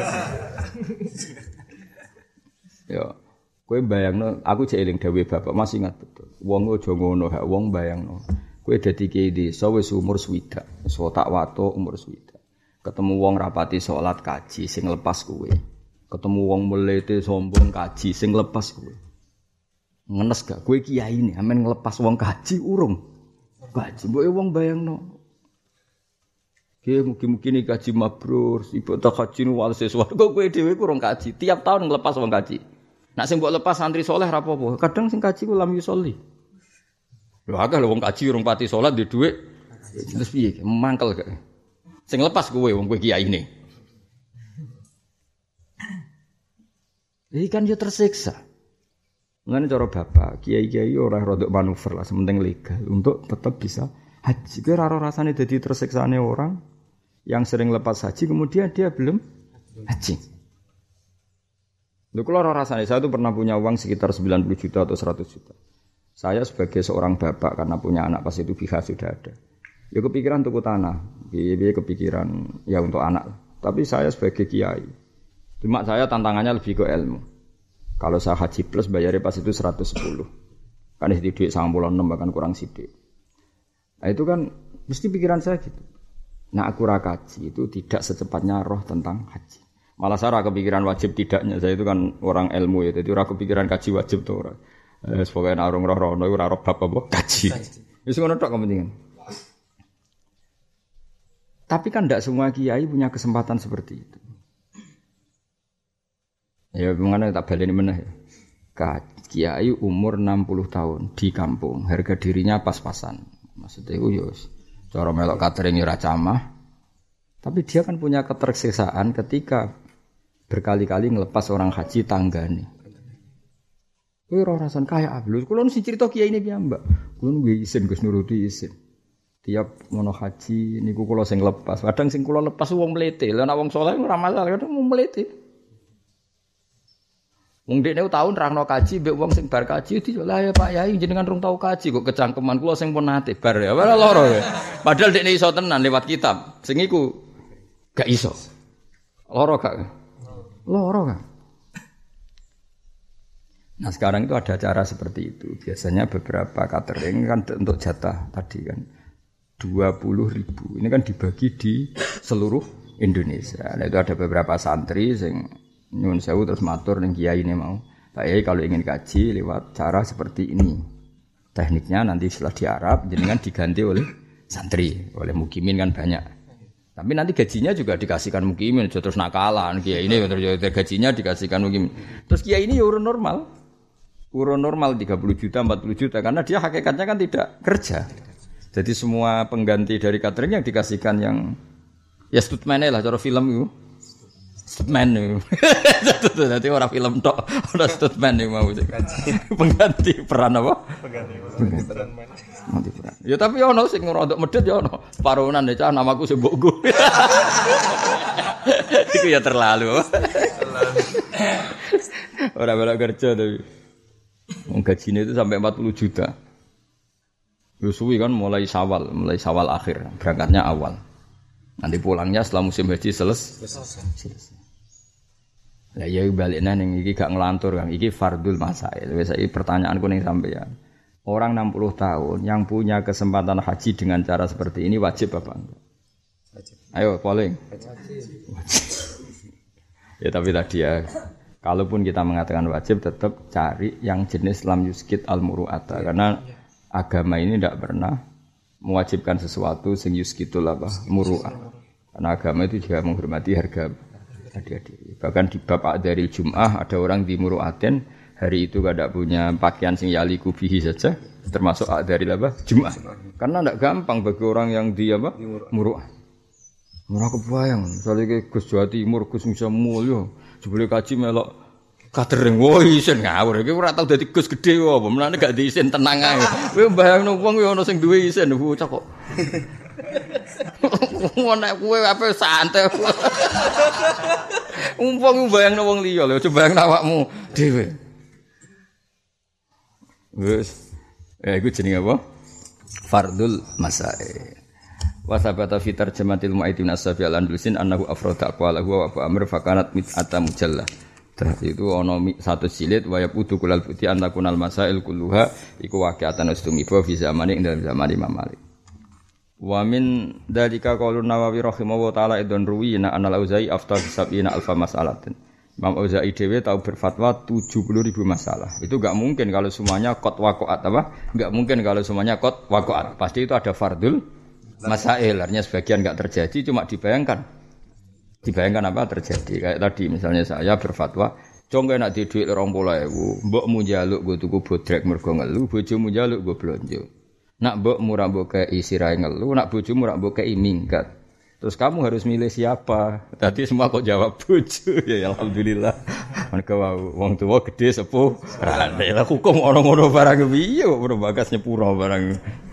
Ya, kowe bayangno, aku cek eling dawuh bapak, masih ingat betul. Wong aja ngono, hak wong bayangno. Kowe dadi kiai desa wis umur swidak, wis tak watuk umur swidak. Ketemu wong rapati salat kaji sing lepas kowe. Ketemu wong melete sombong kaji sing lepas kowe. Ngenes gak kowe kiai ne, amen nglepas wong kaji urung. Kaji mbok wong bayangno. Ki mungkin-mungkin kaji mabrur, ibu tak kaji nu wal seswarga kowe dhewe ku urung kaji. Tiap tahun nglepas wong kaji. Nek sing mbok lepas santri saleh ra apa-apa. Kadang sing kaji ku lam yusolli. Lho akeh lho wong kaji urung pati salat di dhuwit. Terus piye? Mangkel gak. Sing lepas kowe wong kowe kiyaine. Iki kan yo tersiksa. Mulane cara bapak, kiai-kiai ora rodok manuver lah, sementing legal untuk tetap bisa haji. Kira ora rasane dadi tersiksane orang yang sering lepas haji kemudian dia belum haji. Lho kula ora rasane, saya itu pernah punya uang sekitar sembilan puluh juta atau seratus juta. Saya sebagai seorang bapak karena punya anak pas itu B H sudah ada. Ya kepikiran tuku tanah, biaya kepikiran ya untuk anak. Tapi saya sebagai kiai, cuma saya tantangannya lebih ke ilmu. Kalau saya haji plus bayarnya pas itu seratus sepuluh. Kan itu duit sembilan puluh enam bahkan kurang sidik. Nah itu kan mesti pikiran saya gitu. Nah aku rakaji itu tidak secepatnya roh tentang haji. Malah saya kepikiran wajib tidaknya. Saya itu kan orang ilmu ya, jadi ora kepikiran kaji wajib tuh ora. Eh sebagai narung roh-roh ora roh bab apa kaji. Wis ngono tok kepentingan. Tapi kan tidak semua kiai punya kesempatan seperti itu. Ya bagaimana tak baleni meneh ya. Kiai umur enam puluh tahun di kampung, harga dirinya pas-pasan. Maksudnya itu ya cara melok catering ora camah. Tapi dia kan punya ketersiksaan ketika berkali-kali ngelepas orang haji tanggane. Kuwi ora rasan kaya ablus. Kulo sing cerita kiai ini piye, Mbak? Kulo nggih isin Gus nuruti isin. Tiap mono haji niku kula sing lepas. Kadang sing kula lepas wong mlete. Lah nek wong saleh ora masalah, kadang wong mlete. Wong dekne taun nerangno kaji mbek wong sing bar kaji di lah ya Pak Yai jenengan rung tau kaji kok kecangkeman kula sing pun nate bar ya. Ora loro ya. Padahal dekne iso tenan lewat kitab. Sing iku gak iso. Loro gak? Loro gak? Nah sekarang itu ada cara seperti itu. Biasanya beberapa catering kan untuk jatah tadi kan. dua puluh ribu. Ini kan dibagi di seluruh Indonesia. Nah, itu ada beberapa santri yang nyun sewu terus matur ning kiai ini mau. Pak Yai kalau ingin kaji lewat cara seperti ini. Tekniknya nanti setelah di Arab jenengan diganti oleh santri, oleh mukimin kan banyak. Tapi nanti gajinya juga dikasihkan mukimin, terus nakalan kiai ini terus gajinya dikasihkan mukimin. Terus kiai ini ya urun normal. Urun normal tiga puluh juta, empat puluh juta karena dia hakikatnya kan tidak kerja. Jadi semua pengganti dari catering yang dikasihkan yang ya stuntman lah cara film itu. Stuntman itu. Jadi orang film tok, orang stuntman itu mau pengganti peran apa? Pengganti peran. Pengganti peran. Ya tapi ono sing rodok medhit ya ono. Paronan ya cah namaku sing mbokku. Iku ya terlalu. Terlalu. Ora bela kerja tapi. Wong gajine itu sampai empat puluh juta. Suwi kan mulai Syawal, mulai Syawal akhir, berangkatnya awal. Nanti pulangnya setelah musim haji selesai. Selesai. Lah ya baliknya ning iki gak ngelantur Kang, iki fardul masail. Wis iki pertanyaanku ning sampeyan. Orang enam puluh tahun yang punya kesempatan haji dengan cara seperti ini wajib apa enggak? Wajib. Ayo polling. Wajib. Ya tapi tadi ya kalaupun kita mengatakan wajib tetap cari yang jenis lam yuskit al-muru'ata karena agama ini tidak pernah mewajibkan sesuatu sing yuskitul apa muru'ah. Karena agama itu juga menghormati harga diri. Bahkan di bab dari Jum'ah ada orang di muru'aten hari itu tidak punya pakaian sing yaliku bihi saja termasuk dari apa Jum'ah. Karena tidak gampang bagi orang yang di apa muru'ah. Murah kebayang, soalnya Gus Jawa Timur Gus bisa mulya, sebelum kaji melok Katering woi isin ngawur iki ora tau dadi Gus gedhe apa menane gak diisin tenang ae. Kowe mbayangno wong yo ana sing duwe isin bocah kok. Nek kowe ape santai. Umpang mbayangno wong liya lho, coba bayangno awakmu dhewe. Wes. Eh iku jenenge apa? Fardul masail. Wa sabata fi tarjamatil mu'aidin as-safi al-andalusin annahu afrada aqwalahu wa fa amr fa kanat mit'ata mujallah. Itu ono satu silit wayab udu kulal putih antakunal masail kulluha iku waqi'atan ustumiba fi zamani ing dalam zaman Imam Malik. Wa min dalika qaulun Nawawi rahimahullah taala idon ruwina anal Auza'i afdal sab'ina alfa mas'alatin. Imam Auza'i dhewe tahu berfatwa tujuh puluh ribu masalah. Itu enggak mungkin kalau semuanya qad waqa'at apa? Enggak mungkin kalau semuanya qad waqa'at. Pasti itu ada fardul masail. Artinya sebagian enggak terjadi cuma dibayangkan. Dibayangkan apa terjadi kayak tadi misalnya saya berfatwa congke nak di dhuwit rong puluh ribu mbokmu njaluk go tuku bodrek mergo ngelu bojomu njaluk go blonjo nak mbokmu ra mbok kei sirahe ngelu nak bojomu ra mbok kei minggat terus kamu harus milih siapa tadi semua kok jawab bojo ya alhamdulillah Mergo wong tuwa gedhe sepuh. Lah hukum ana ngono barang piye kok ora bagas nyepuro barang.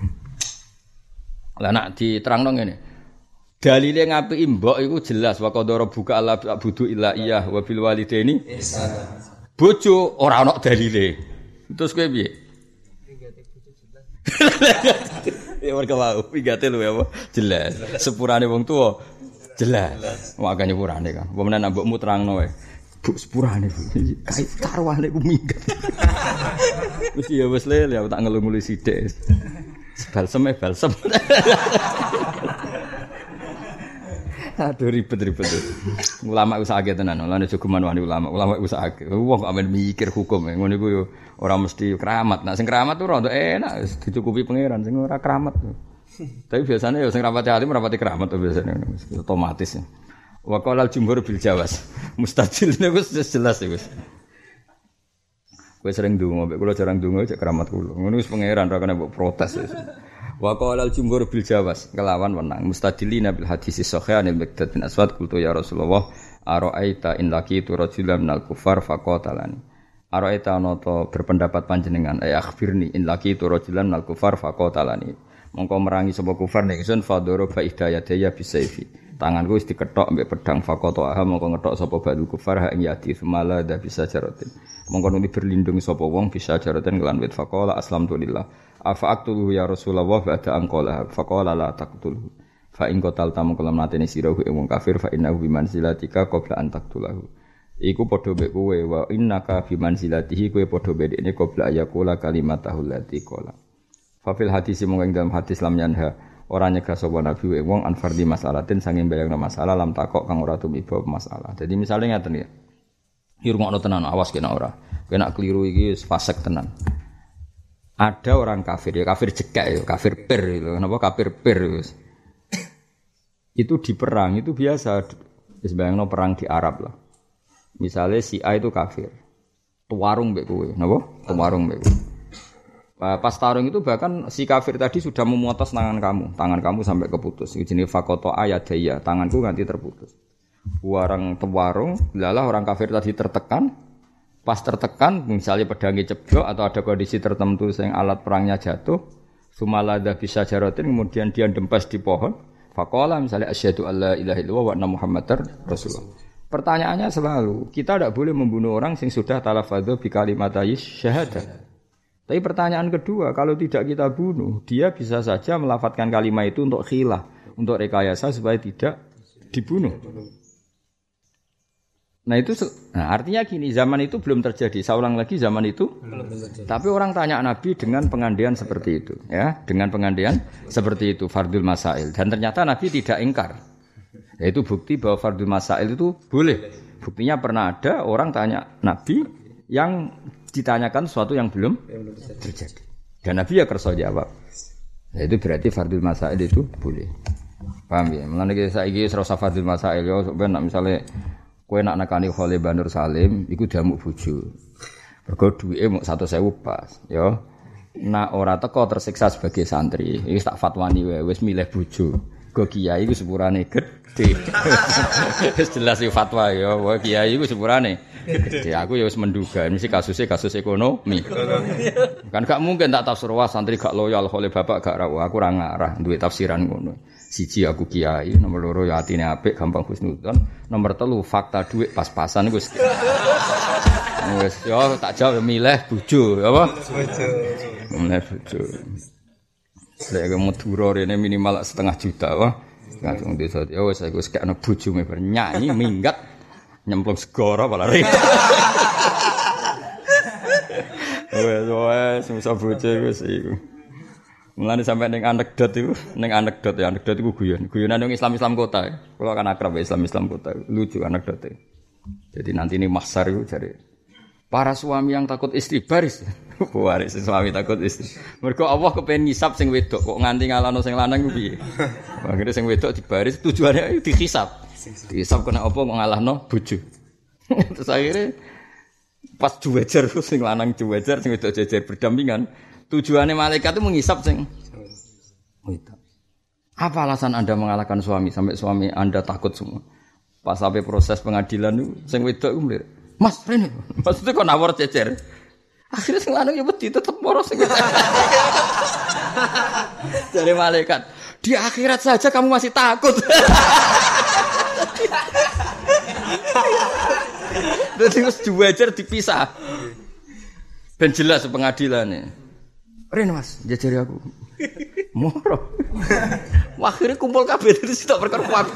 Lah nak diterangno ngene. Dalile ngapiki mbok iku jelas wa qadara buka Allah budu illa iyah wa bil walidaini ihsana. Bojo ora ana dalile. Terus kowe piye? Pingate bojo jelas. Ya mergo wae pingate lho ya apa? Jelas. Sepurane wong tuwa jelas. Makane sepurane kan. Apa menan mbokmu terangno wae. Bu sepurane kait karwane ku minggat. Wis ya wis le ya tak ngelu-ngelu sithik. Balsem e balsem. Aduh ribet-ribet. Ulama wis akeh tenan. Lan aja geman wani ulama. Ulama wis akeh. Wong kok amen mikir hukum. Ngono iku yo ora mesti keramat. Nek sing keramat tuh rada enak wis dicukupi pangeran. Sing ora keramat. Tapi biasanya yo sing rapati alim rapati keramat tuh biasanya otomatis. Wa qalal jumhur bil jawas. Mustajil niku jelas wis. Kowe sering ndonga, mek kula jarang ndonga cek keramat kula. Ngono wis pangeran ra kena mbok protes wis. Wa qalal jumhur bil jawas kelawan wenang mustadilina bil hadis sahih anil Miqdad bin Aswad qultu ya Rasulullah ara'aita in laqitu rajulan minal kufar faqatalani ara'aita anoto berpendapat panjenengan ay akhbirni in laqitu rajulan minal kufar faqatalani mongko merangi sapa kufar nek sun fadoro fa idayadaya bisayfi tanganku wis dikethok mbek pedang faqata mongko ngethok sapa badu kufar ha ing yati semala da bisa jaratin mongko nuli berlindung sapa wong bisa jaratin kelan wit faqala aslamtulillah afa aqtuluhu ya Rasulullah ba'da anqala faqala la taqtulhu fa in qatalta mongko lamate sirahu ing wong kafir fa innahu bi manzilatika qabla an taqtulahu iku padha mek kowe wa innaka bi manzilatihi kowe padha bedene qabla ayaqula kalimatahu allati qala fa fil hadis mongko ing dalam hadis lam yanha ora nyegah sapa nabi wong anfardi masalatin sanging bayangna masalah lam takok kang ora tumiba masalah. Jadi misale ngaten ya. Iki rungokno tenan awas kena ora. Kena keliru iki fasik tenan. Ada orang kafir ya kafir jekak ya, kafir pir itu. Kenapa kafir pir wis. Itu di perang itu biasa. Wis bayangno perang di Arab lah. Misale si A itu kafir. Tuwarung mbek kowe, napa? Tuwarung mbek kowe. Pas tarung itu bahkan si kafir tadi sudah memutus tangan kamu, tangan kamu sampai keputus. Itu jenis fakoto ayadaya, tanganku nanti terputus. Orang tewarung, lalah orang kafir tadi tertekan, pas tertekan, misalnya pedangnya ceblok atau ada kondisi tertentu yang alat perangnya jatuh, sumalada bisa jarotin, kemudian dia dempes di pohon, fakola misalnya asyhadu alla ilaha illallah wa anna muhammadar rasulullah. Pertanyaannya selalu, kita tidak boleh membunuh orang yang sudah talafadhu bi kalimatayis syahadah. Tapi pertanyaan kedua, kalau tidak kita bunuh, dia bisa saja melafadzkan kalimat itu untuk khilah, untuk rekayasa supaya tidak dibunuh. Nah itu, nah artinya gini, zaman itu belum terjadi. Saya ulang lagi, zaman itu belum terjadi. Tapi orang tanya Nabi dengan pengandian seperti itu, ya, dengan pengandian seperti itu, fardul masail. Dan ternyata Nabi tidak ingkar. Yaitu bukti bahwa fardul masail itu boleh. Buktinya pernah ada orang tanya Nabi yang ditanyakan sesuatu yang belum terjadi. Dan Nabi ya kersa jawab. Nah, itu berarti fardul masail itu boleh. Paham ya? Mulane iki saiki ora usah fardul masail yo, sampeyan nak misale kowe nak nekani Khalil Banur Salim iku diamuk bojo. Mergo duwike mung satu sewu pas, yo. Nak ora teko tersiksa sebagai santri, iki tak fatwani wae wis milih bojo. Go kiai iku sepurane gedhe. Wis jelas iki fatwa yo, wae kiai iku sepurane gede. Aku ya wis menduga mesti kasusnya kasus ekonomi. Kan gak mungkin tak tafsir wah santri gak loyal oleh bapak gak rawuh. Aku ora ngarah duwe tafsiran ngono. Siji aku kiai, nomor loro ya atine apik gampang husnudzon, nomor telu fakta dhuwit pas-pasan iku wis. Wis yo tak jawab milih bojo, apa? Bojo. Milih bojo. Lek Madura rene minimal setengah juta wah. Langsung desa yo wis aku wis kene bojo mebar nyanyi minggat. Nyemplung segara malah ribet. Wes wes susah bojo wis iku. Mulane sampai ning anekdot iku, ning anekdot ya anekdot iku guyon. Guyonan wong Islam-Islam kota. Kula kan akrab Islam-Islam kota. Lucu anekdote. Jadi nanti ini mahsyar iku jare para suami yang takut istri baris. Baris suami takut istri. Mergo Allah kepen ngisap sing wedok kok nganti ngalano sing lanang ku piye. Akhire sing wedok dibaris tujuannya dihisap. Dihisap kena apa kok ngalahno bojo. Terus akhirnya pas juwejer sing lanang juwejer sing wedok jejer berdampingan. Tujuannya malaikat itu menghisap sing wedok. Apa alasan Anda mengalahkan suami sampai suami Anda takut semua? Pas sampai proses pengadilan itu sing wedok ku mlir. Mas rene. Maksudnya kok nawar cecer. Akhirnya sing lanang ya wedi tetep moro sing. Dari malaikat, di akhirat saja kamu masih takut. Dadi wis juwajar dipisah. Ben jelas pengadilane. Rene Mas, jajari aku. Moro. Akhirnya kumpul kabeh dari situ perkara kuat.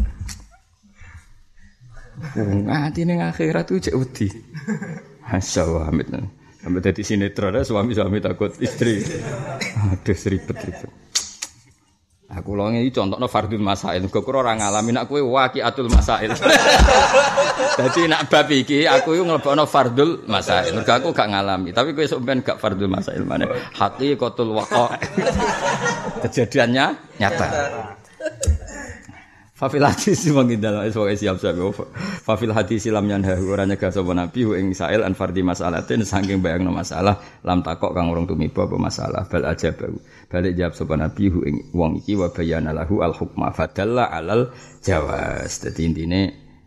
Nganti ning akhirat tuh cek wedi. Masyaallah Hamid. Sampai dadi sinetron suami-suami takut istri. Aduh ribet-ribet. Aku lho iki contohno fardhul masail. Kok ora ngalami nek kowe waqiatul masail. Dadi nek bab iki aku iku nglebokno fardhul masail. Mergo aku gak ngalami, tapi kowe sok ben gak fardhul masail maneh. Haqiqatul waqa'. Kejadiannya nyata. Fafil hadis mangindal esuk siap siap. Fafil hadis lam yanha ora nyegah sapa nabi ing sail an fardhi masalatin saking bayangno masalah lam takok kang urung tumiba apa masalah bal aja bau. Balik jawab sapa nabi ing wong iki wa bayana lahu al hukma fadalla alal jawaz. Dadi intine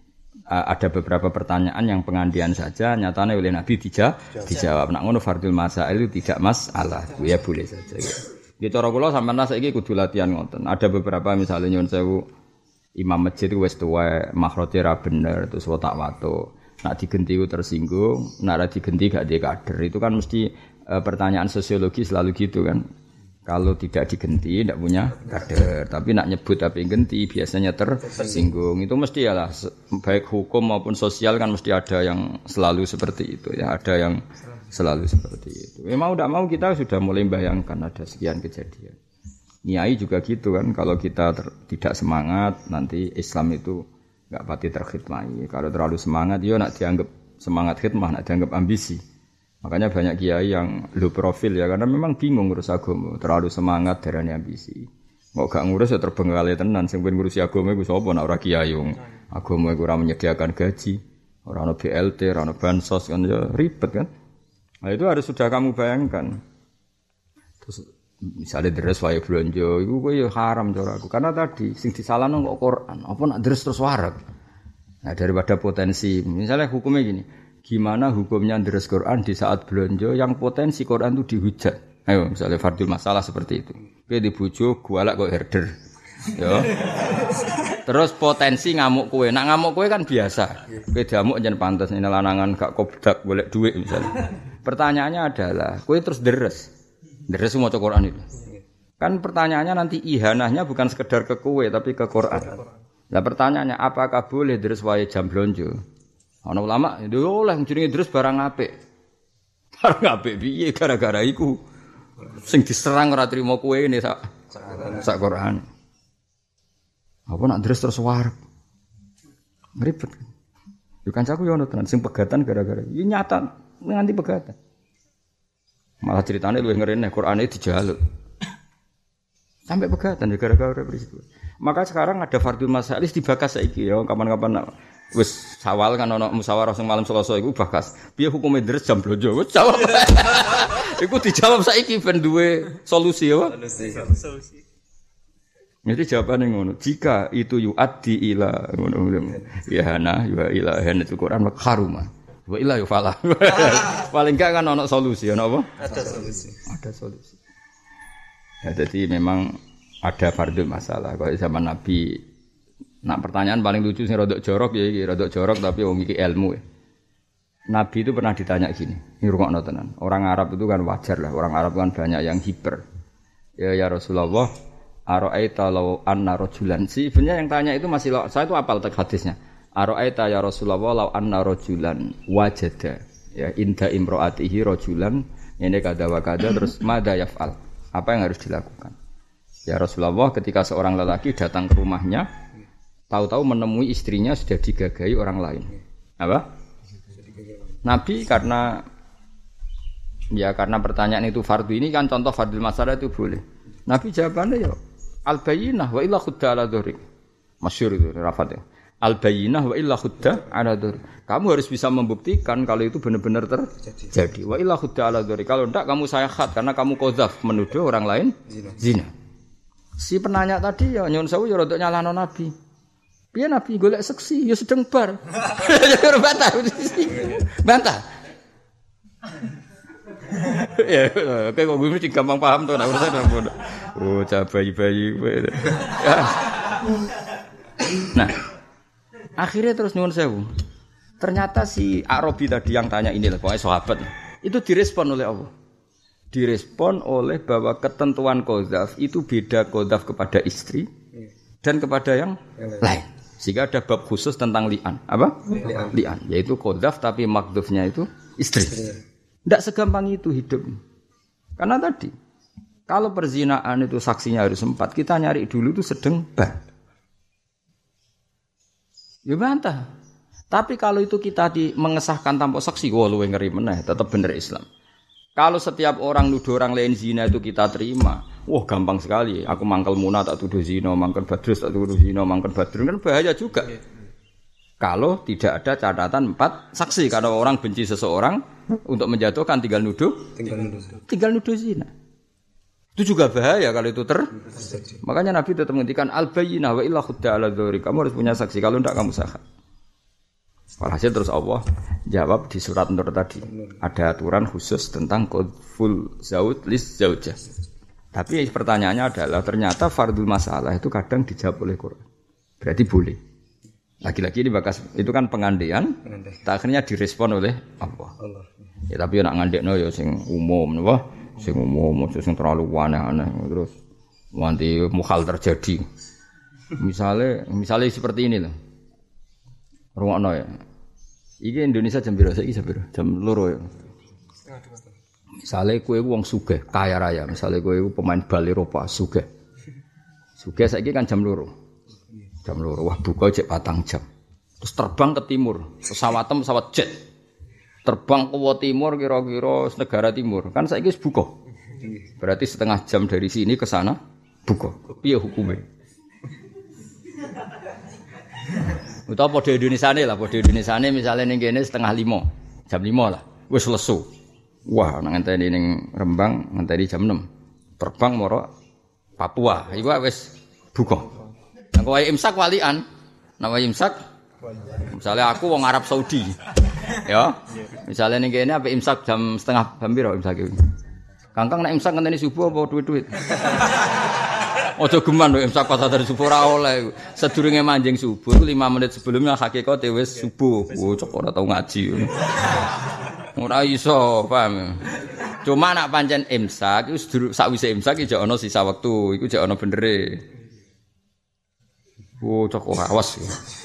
ada beberapa pertanyaan yang pengandian saja nyatane oleh nabi dija, dijawab. Nek ngono fardhul masail itu tidak masalah. Ya boleh saja. Ya cara kula sampeyan saiki kudu latihan ngoten. Ada beberapa misalnya nyuwun sewu imam masjid wis tuwa makhraje ra bener terus tak watuk. Nak digenti ku tersinggung, nak ra digenti gak dia kader. Itu kan mesti e, pertanyaan sosiologi selalu gitu kan. Kalau tidak digenti tidak punya kader, tapi nak nyebut tapi genti biasanya tersinggung. Itu mesti ya lah baik hukum maupun sosial kan mesti ada yang selalu seperti itu ya, ada yang selalu seperti itu. Memang udah mau kita sudah mulai bayangkan ada sekian kejadian. Niai juga gitu kan, kalau kita ter, tidak semangat nanti Islam itu enggak pati terkhidmati. Kalau terlalu semangat yo nak dianggap semangat khidmah, nak dianggap ambisi. Makanya banyak kiai yang low profil ya karena memang bingung ngurus agama, terlalu semangat darane ambisi. Kok gak ngurus ya terbengkalai tenan, sing ben ngurusi agama iku sapa nek ora kiai wong. Agama iku ora menyediakan gaji, ora ono B L T, ora ono bansos kan ya ribet kan. Nah itu harus sudah kamu bayangkan. Terus misalnya deres wae blonjo iku kowe ya haram cara aku karena tadi sing disalahno kok Quran apa nak deres terus warak. Nah daripada potensi misalnya hukumnya gini, gimana hukumnya deres Quran di saat blonjo yang potensi Quran itu dihujat. Ayo misalnya fardhul masalah seperti itu. Kowe dibojo gualak kok herder. Ya. Terus potensi ngamuk kowe. Nak ngamuk kowe kan biasa. Kowe diamuk jan pantes ini lanangan gak kobdak golek duit misalnya. Pertanyaannya adalah kowe terus deres. Deres maca Quran itu. Kan pertanyaannya nanti ihanahnya bukan sekedar ke kowe tapi ke Quran. Lah pertanyaannya apakah boleh deres wae jam blonjo? Ana ulama yo oleh jenenge deres barang apik. Barang apik piye gara-gara iku sing diserang ora trimo kowe ne sak sak Quran. Apa nak deres terus warep. Ngribet. Yo kancaku yo ono tenan sing pegatan gara-gara. Iki nyata nganti pegatan. Malah ceritanya luwih ngerene Qur'ane dijaluk. Sampai pegatan gara-gara peristiwa. Maka sekarang ada fardhul masail dibakas saiki ya kapan-kapan wis sawal kan ana musyawarah sing malam Selasa iku bakas. Piye hukume deres jam blonjo? Wis jawab. Iku dijawab saiki ben duwe solusi ya. Solusi. Jadi jawabannya ngono. Jika itu yu'addi ila ngono. Ya hana wa ila han itu Quran haruma. Wa ila yufala. Paling enggak kan ana solusi ana apa? Ada solusi. Ada solusi. Ya jadi memang ada fardhul masalah. Kalau zaman Nabi nak pertanyaan paling lucu sing rodok jorok ya iki, rodok jorok tapi wong iki ilmu. Nabi itu pernah ditanya gini, ini rungokno tenan. Orang Arab itu kan wajar lah, orang Arab kan banyak yang hiper. Ya ya Rasulullah, ara'aita law anna rajulan. Si sebenarnya yang tanya itu masih saya itu hafal teks hadisnya. Ara'aita ya Rasulullah law anna rajulan wajada ya inda imraatihi rajulan ini kada wa kada terus mada yaf'al. Apa yang harus dilakukan? Ya Rasulullah ketika seorang lelaki datang ke rumahnya tahu-tahu menemui istrinya sudah digagahi orang lain. Apa? Nabi karena ya karena pertanyaan itu fardu ini kan contoh fardhul masalah itu boleh. Nabi jawabannya ya al-bayyinah wa illa khudda ala dhurik. Masyhur itu rafatnya. Al-bayyinah wa illa khudda ala dhurik. Kamu harus bisa membuktikan kalau itu benar-benar terjadi. Wa illa khudda ala dhurik. Kalau enggak kamu sayakhat karena kamu qadzaf menuduh orang lain zina. zina. Si penanya tadi ya nyun sewu ya rodok nyalano Nabi. Piye Nabi golek seksi ya sedeng bar. Bantah. Bantah. Ya, kayak kok mesti gampang paham tuh, nah urusan apa? Oh, cah bayi-bayi. Nah, akhirnya terus nyuwun sewu. Ternyata si Arabi tadi yang tanya ini lah, pokoknya sahabat. Itu direspon oleh Allah. Direspon oleh bahwa ketentuan qadzaf itu beda qadzaf kepada istri dan kepada yang lain. Sehingga ada bab khusus tentang li'an. Apa? Li'an. Li'an. Yaitu qadzaf tapi makdhufnya itu istri. Tidak segampang itu hidup. Karena tadi, kalau perzinaan itu saksinya harus empat, kita nyari dulu itu sedang bah. Ya bantah. Tapi kalau itu kita di, mengesahkan tanpa saksi, wah luwih ngeri meneh, tetap bener Islam. Kalau setiap orang nuduh orang lain zina itu kita terima, wah gampang sekali. Aku mangkel Muna tak tuduh zina, mangkel Badrus tak tuduh zina, mangkel Badrun kan bahaya juga. Kalau tidak ada catatan empat saksi, karena orang benci seseorang untuk menjatuhkan tinggal nuduh, tinggal nuduh, tinggal nuduh zina. Itu juga bahaya kalau itu ter. Makanya Nabi tetap menghentikan al-bayyinah wa illa khudda ala dzuri. Kamu harus punya saksi, kalau tidak kamu sah. Walhasil terus Allah jawab di surat Nur tadi. Ada aturan khusus tentang qadzful zauj lis zaujah. Tapi pertanyaannya adalah ternyata fardul masalah itu kadang dijawab oleh Quran. Berarti boleh. Lagi-lagi ini bakas itu kan pengandaian, akhirnya direspon oleh Allah. Allah. Ya tapi nak ngandekno ya sing umum napa? Sing umum, sing terlalu aneh-aneh terus nanti mukhal terjadi. Misalnya, misalnya seperti ini loh. Rungokno ya. Iki Indonesia jam piro saiki jam piro? Jam loro ya. Misale kowe wong sugih, kaya raya, misale kowe pemain bal Eropa sugih. Sugih saiki kan jam loro. Jam loro wah buka cek patang jam. Terus terbang ke timur, pesawat pesawat jet. Terbang ke timur kira-kira negara timur. Kan saiki wis buka. Berarti setengah jam dari sini ke sana buka. Piye hukumnya? Utawa padha Indonesiane lah, padha Indonesiane misale ning kene setengah lima, jam lima lah, wis lesu. Wah, nang ngenteni ning Rembang ngenteni jam enam. Terbang moro Papua, iku wis buka. Nang kowe imsak walian, nama imsak. Misale aku wong Arab Saudi. Ya. Misale ning kene ape imsak jam setengah jam piro imsak iki. Kangkang nek imsak ngenteni subuh apa duit-duit. Ojo geman lho imsak pas dari subuh ora oleh. Sedurunge manjing subuh lima menit sebelumnya hakikate wis subuh. Oh cok ora tau ngaji. Ora iso, paham. Cuma nak pancen imsak iku sakwise imsak iki ana sisa wektu, iku jek ana benere. Oh cok ora awas.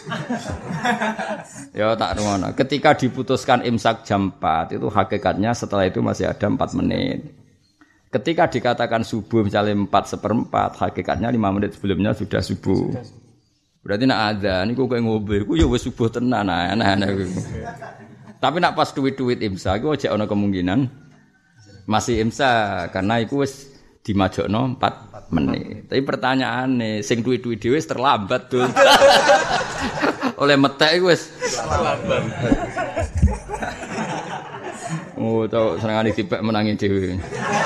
Ya tak rungono. Ketika diputuskan imsak jam empat itu hakikatnya setelah itu masih ada empat menit. Ketika dikatakan subuh misalnya empat seperempat, hakikatnya lima menit sebelumnya sudah subuh. Berarti nak ada, ini kok kayak ngobrol, kok ya wes subuh tenan, aneh-aneh. Tapi nak pas duit-duit imsak, kok aja ada kemungkinan masih imsak, karena itu wes dimajokno empat menit. Tapi pertanyaannya, sing duit-duit dia wes terlambat tuh. Oleh metek wes terlambat. Oh, tau senengane dipek menangi dhewe.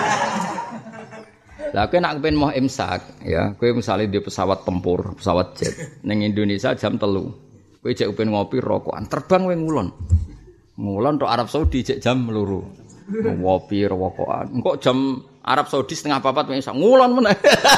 Lah kowe nak kepen mau imsak, ya, kowe misale di pesawat tempur, pesawat jet ning Indonesia jam telu. Kowe jek kepen ngopi rokokan, terbang kowe ngulon. Ngulon tok Arab Saudi jek jam loro. Ngopi rokokan. Engko jam Arab Saudi setengah papat wis ngulon meneh.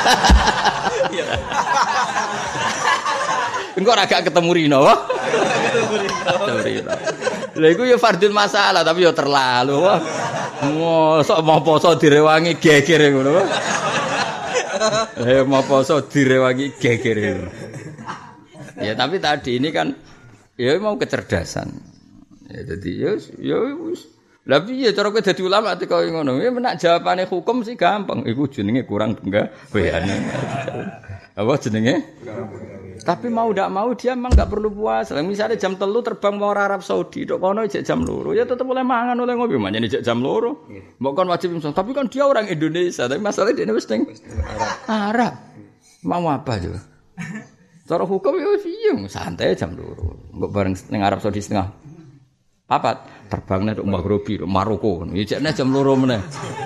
Engko ora gak ketemu Rino. Ketemu Rino. Lha iku ya fardul masalah tapi ya terlalu. Wah. Mosok mau poso direwangi geger ngono. Eh mau poso direwangi geger. Ya tapi tadi ini kan ya mau kecerdasan. Ya jadi ya ya wis. Lah piye cara kowe dadi ulama teko ngono? Ya menak jawabane hukum sih gampang. Iku jenenge kurang penggaweane. Apa jenenge? Tapi mau ndak mau dia memang enggak perlu puasa. Misalnya jam telu terbang mau Arab Saudi, dok kono jek jam loro, ya tetep boleh mangan oleh ngopi, manjane jek jam loro. Mbok kon wajib imsak. Tapi kan dia orang Indonesia, tapi masalahnya dia wis ning Arab. Mau apa juga? Cara hukum ya wis piye, santai jam loro. Mbok bareng ning Arab Saudi setengah papat, terbangnya tok Maghribi, Maroko. Ya jekne jam loro meneh.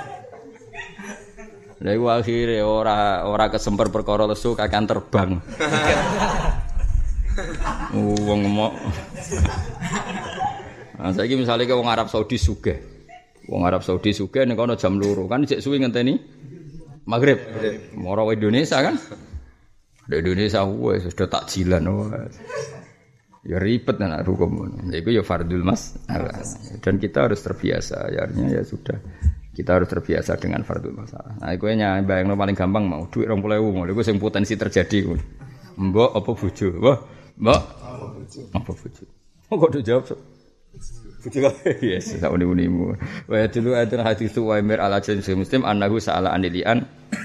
Lha iku akhire ora ora kesemper perkara lesu kakan terbang. Wong ngomong. Nah, saiki misale ke wong Arab Saudi sugih. Wong Arab Saudi sugih nek ana jam loro kan cek suwi ngenteni Maghrib. Moro Indonesia kan. Di Indonesia wis sudah takjilan wis. Ya ribet nak hukum. Iku ya fardul mas. Dan kita harus terbiasa. Ya artinya ya sudah. Kita harus terbiasa dengan fardul masalah. Nah, iku nya bayangno paling gampang mau duit dua puluh ribu ngono iku sing potensi terjadi. Mbok apa bojo? Mbok, mbok apa bojo? Kok do jawab so? Bojo yes, sak uni-unimu. Wa dulu ada hadis Uwaimir al-Ajlan Muslim annahu sa'ala anilian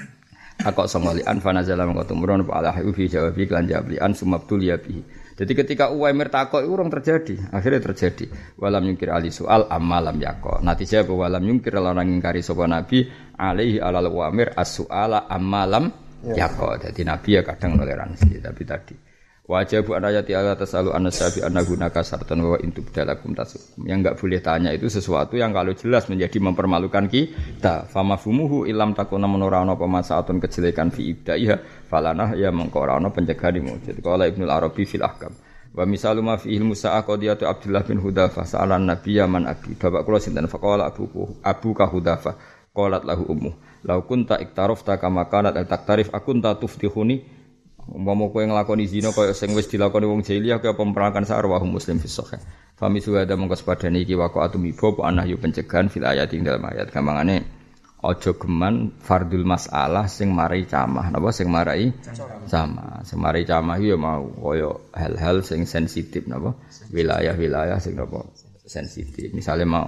akok songolian fanazala mangko tumurun apa alahu fi jawabi lan jawabian sumabtul ya bi. Jadi ketika Uwaimir takok iku urung terjadi, akhirnya terjadi. Walam yungkir ali soal amalam yaqo. Natijah bahwa walam yungkir lan ngingkari sapa nabi alaihi alal Uwaimir as-suala amalam yaqo. Jadi nabi ya kadang toleransi, tapi tadi wajibu an ayati Allah tasalu an-nasabi annagunaka sartan wa intu bidalakum tasum. Yang enggak boleh tanya itu sesuatu yang kalau jelas menjadi mempermalukan kita. Famafumuhu ilam takuna menorana pemasaatun kejelekan fi ibdaiha falanah ya mengkorana pencegahanmu. Jadi qala Ibnu Arabi fil ahkam. Wa misalu ma fi ilmu sa'a qadiyatu Abdullah bin Hudzafah sa'alan nabiyya man abi. Bapak kula sinten faqala abuku abuka Hudzafah qalat lahu ummu. Law kunta iktarafta kama kanat taktarif akunta tuftihuni. Umpama kowe nglakoni zina kaya sing wis dilakoni wong jahiliyah kaya pemperangan sarwahu Muslim fi sahih. Fami suwada mongko sepadane iki waqa'atu mibo apa anah yu pencegahan fil ayat ing dalem ayat gampangane aja geman fardul masalah sing marai camah napa sing marai camah. Sing marai camah ya mau kaya hal-hal sing sensitif napa wilayah-wilayah sing napa sensitif. Misale mau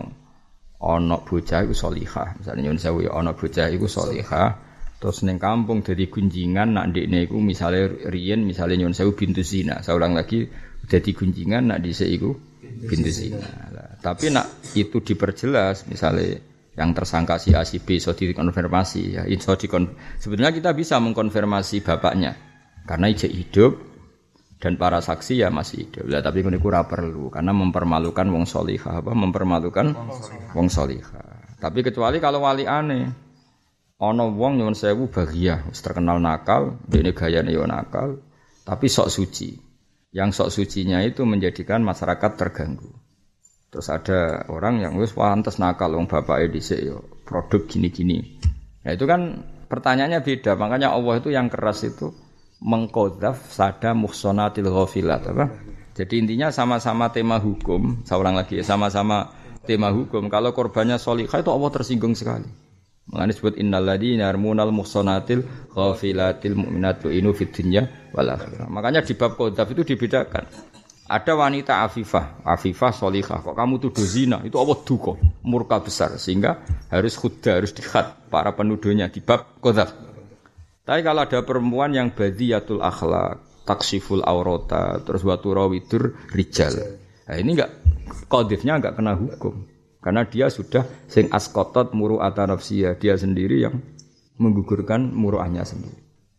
ana bocah iku salihah, misale nyun sewu ya ana bocah iku salihah. Terus ning kampung dadi gunjingan nak ndekne iku misale riyen misale nyun sewu bintu zina. Saya ulang lagi dadi gunjingan nak dhisik iku bintu zina. Lah, tapi nak itu diperjelas misale yang tersangka si A si B iso dikonfirmasi ya iso dikon sebetulnya kita bisa mengkonfirmasi bapaknya karena ijek hidup dan para saksi ya masih hidup. Lah tapi niku ora perlu karena mempermalukan wong salihah apa mempermalukan wong salihah. Tapi kecuali kalau wali aneh ana wong nyuwun sewu baghiyah wis terkenal nakal, dene gayane yo nakal, tapi sok suci. Yang sok sucinya itu menjadikan masyarakat terganggu. Terus ada orang yang wis pantes nakal wong bapake dhisik yo produk gini-gini. Nah itu kan pertanyaannya beda. Makanya Allah itu yang keras itu mengqadzaf sada muhsanatil ghafilat apa? Jadi intinya sama-sama tema hukum, saya ulang lagi ya, sama-sama tema hukum. Kalau korbannya sholihah itu Allah tersinggung sekali. Mengenai disebut innal ladzina yarmunal muhsanatil ghafilatil mu'minatil inu fid dunya wal akhirah. Makanya di bab qadzaf itu dibedakan. Ada wanita afifah, afifah sholihah. Kok kamu tuduh zina? Itu Allah duka, murka besar sehingga harus khudda, harus dikhat para penuduhnya di bab qadzaf. Tapi kalau ada perempuan yang badiyatul akhlak, taksiful aurata, terus wa turawidur rijal. Nah, ini enggak qadzifnya enggak kena hukum. Karena dia sudah sing askotot muru'ata nafsiyah, dia sendiri yang menggugurkan muru'ahnya sendiri.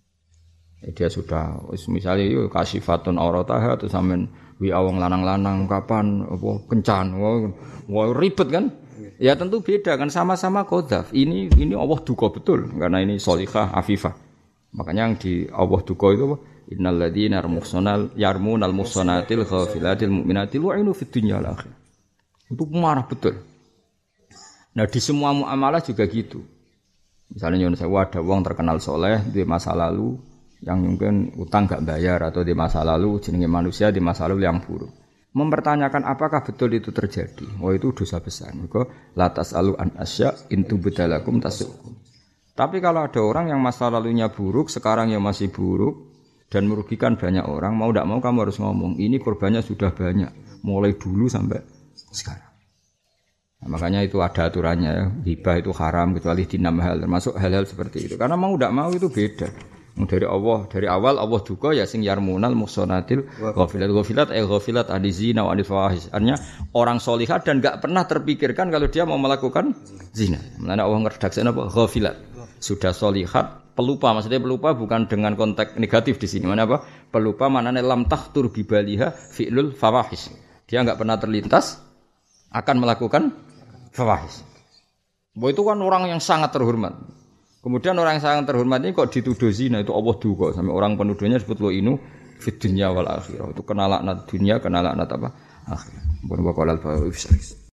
Ya, dia sudah misalnya yuk kasifatun aurataha atau sampean wi awang lanang-lanang kapan apa kencan wah, wah ribet kan? Ya tentu beda kan sama-sama qadzaf. Ini ini Allah duka betul karena ini sholihah afifah. Makanya yang di Allah duka itu apa? Innal ladzina yarmunal yarmunal muhsanatil ghafilatil mu'minatil wa'inu fid dunya wal akhirah. Itu marah betul. Nah di semua muamalah juga gitu. Misalnya nyuwun sewu ada wong terkenal soleh di masa lalu yang mungkin utang gak bayar atau di masa lalu jenenge manusia di masa lalu yang buruk. Mempertanyakan apakah betul itu terjadi. Oh itu dosa besar. Maka la tasalu an asya intu bedalakum tasukum. Tapi kalau ada orang yang masa lalunya buruk, sekarang yang masih buruk dan merugikan banyak orang, mau tidak mau kamu harus ngomong ini korbannya sudah banyak mulai dulu sampai sekarang. Nah, makanya itu ada aturannya ya. Hibah itu haram kecuali di enam hal termasuk hal-hal seperti itu. Karena mau tidak mau itu beda. Dari Allah dari awal Allah juga ya sing yarmunal muhsanatil ghafilat ghafilat eh ghafilat adizina wa anifahis. Artinya orang solihah dan enggak pernah terpikirkan kalau dia mau melakukan zina. Makanya Allah ngeredaksi apa ghafilat. Sudah solihat pelupa maksudnya pelupa bukan dengan konteks negatif di sini. Mana apa? Pelupa maknanya lam tahtur bibaliha fi'lul fawahis. Dia enggak pernah terlintas akan melakukan fawahis. Bahwa itu kan orang yang sangat terhormat. Kemudian orang yang sangat terhormat ini kok dituduh zina itu Allah duka. Sampai orang penuduhnya disebut lo inu fid dunya wal akhirah. Itu kena laknat dunia, kena laknat apa? Akhir. Pun wa qalal fa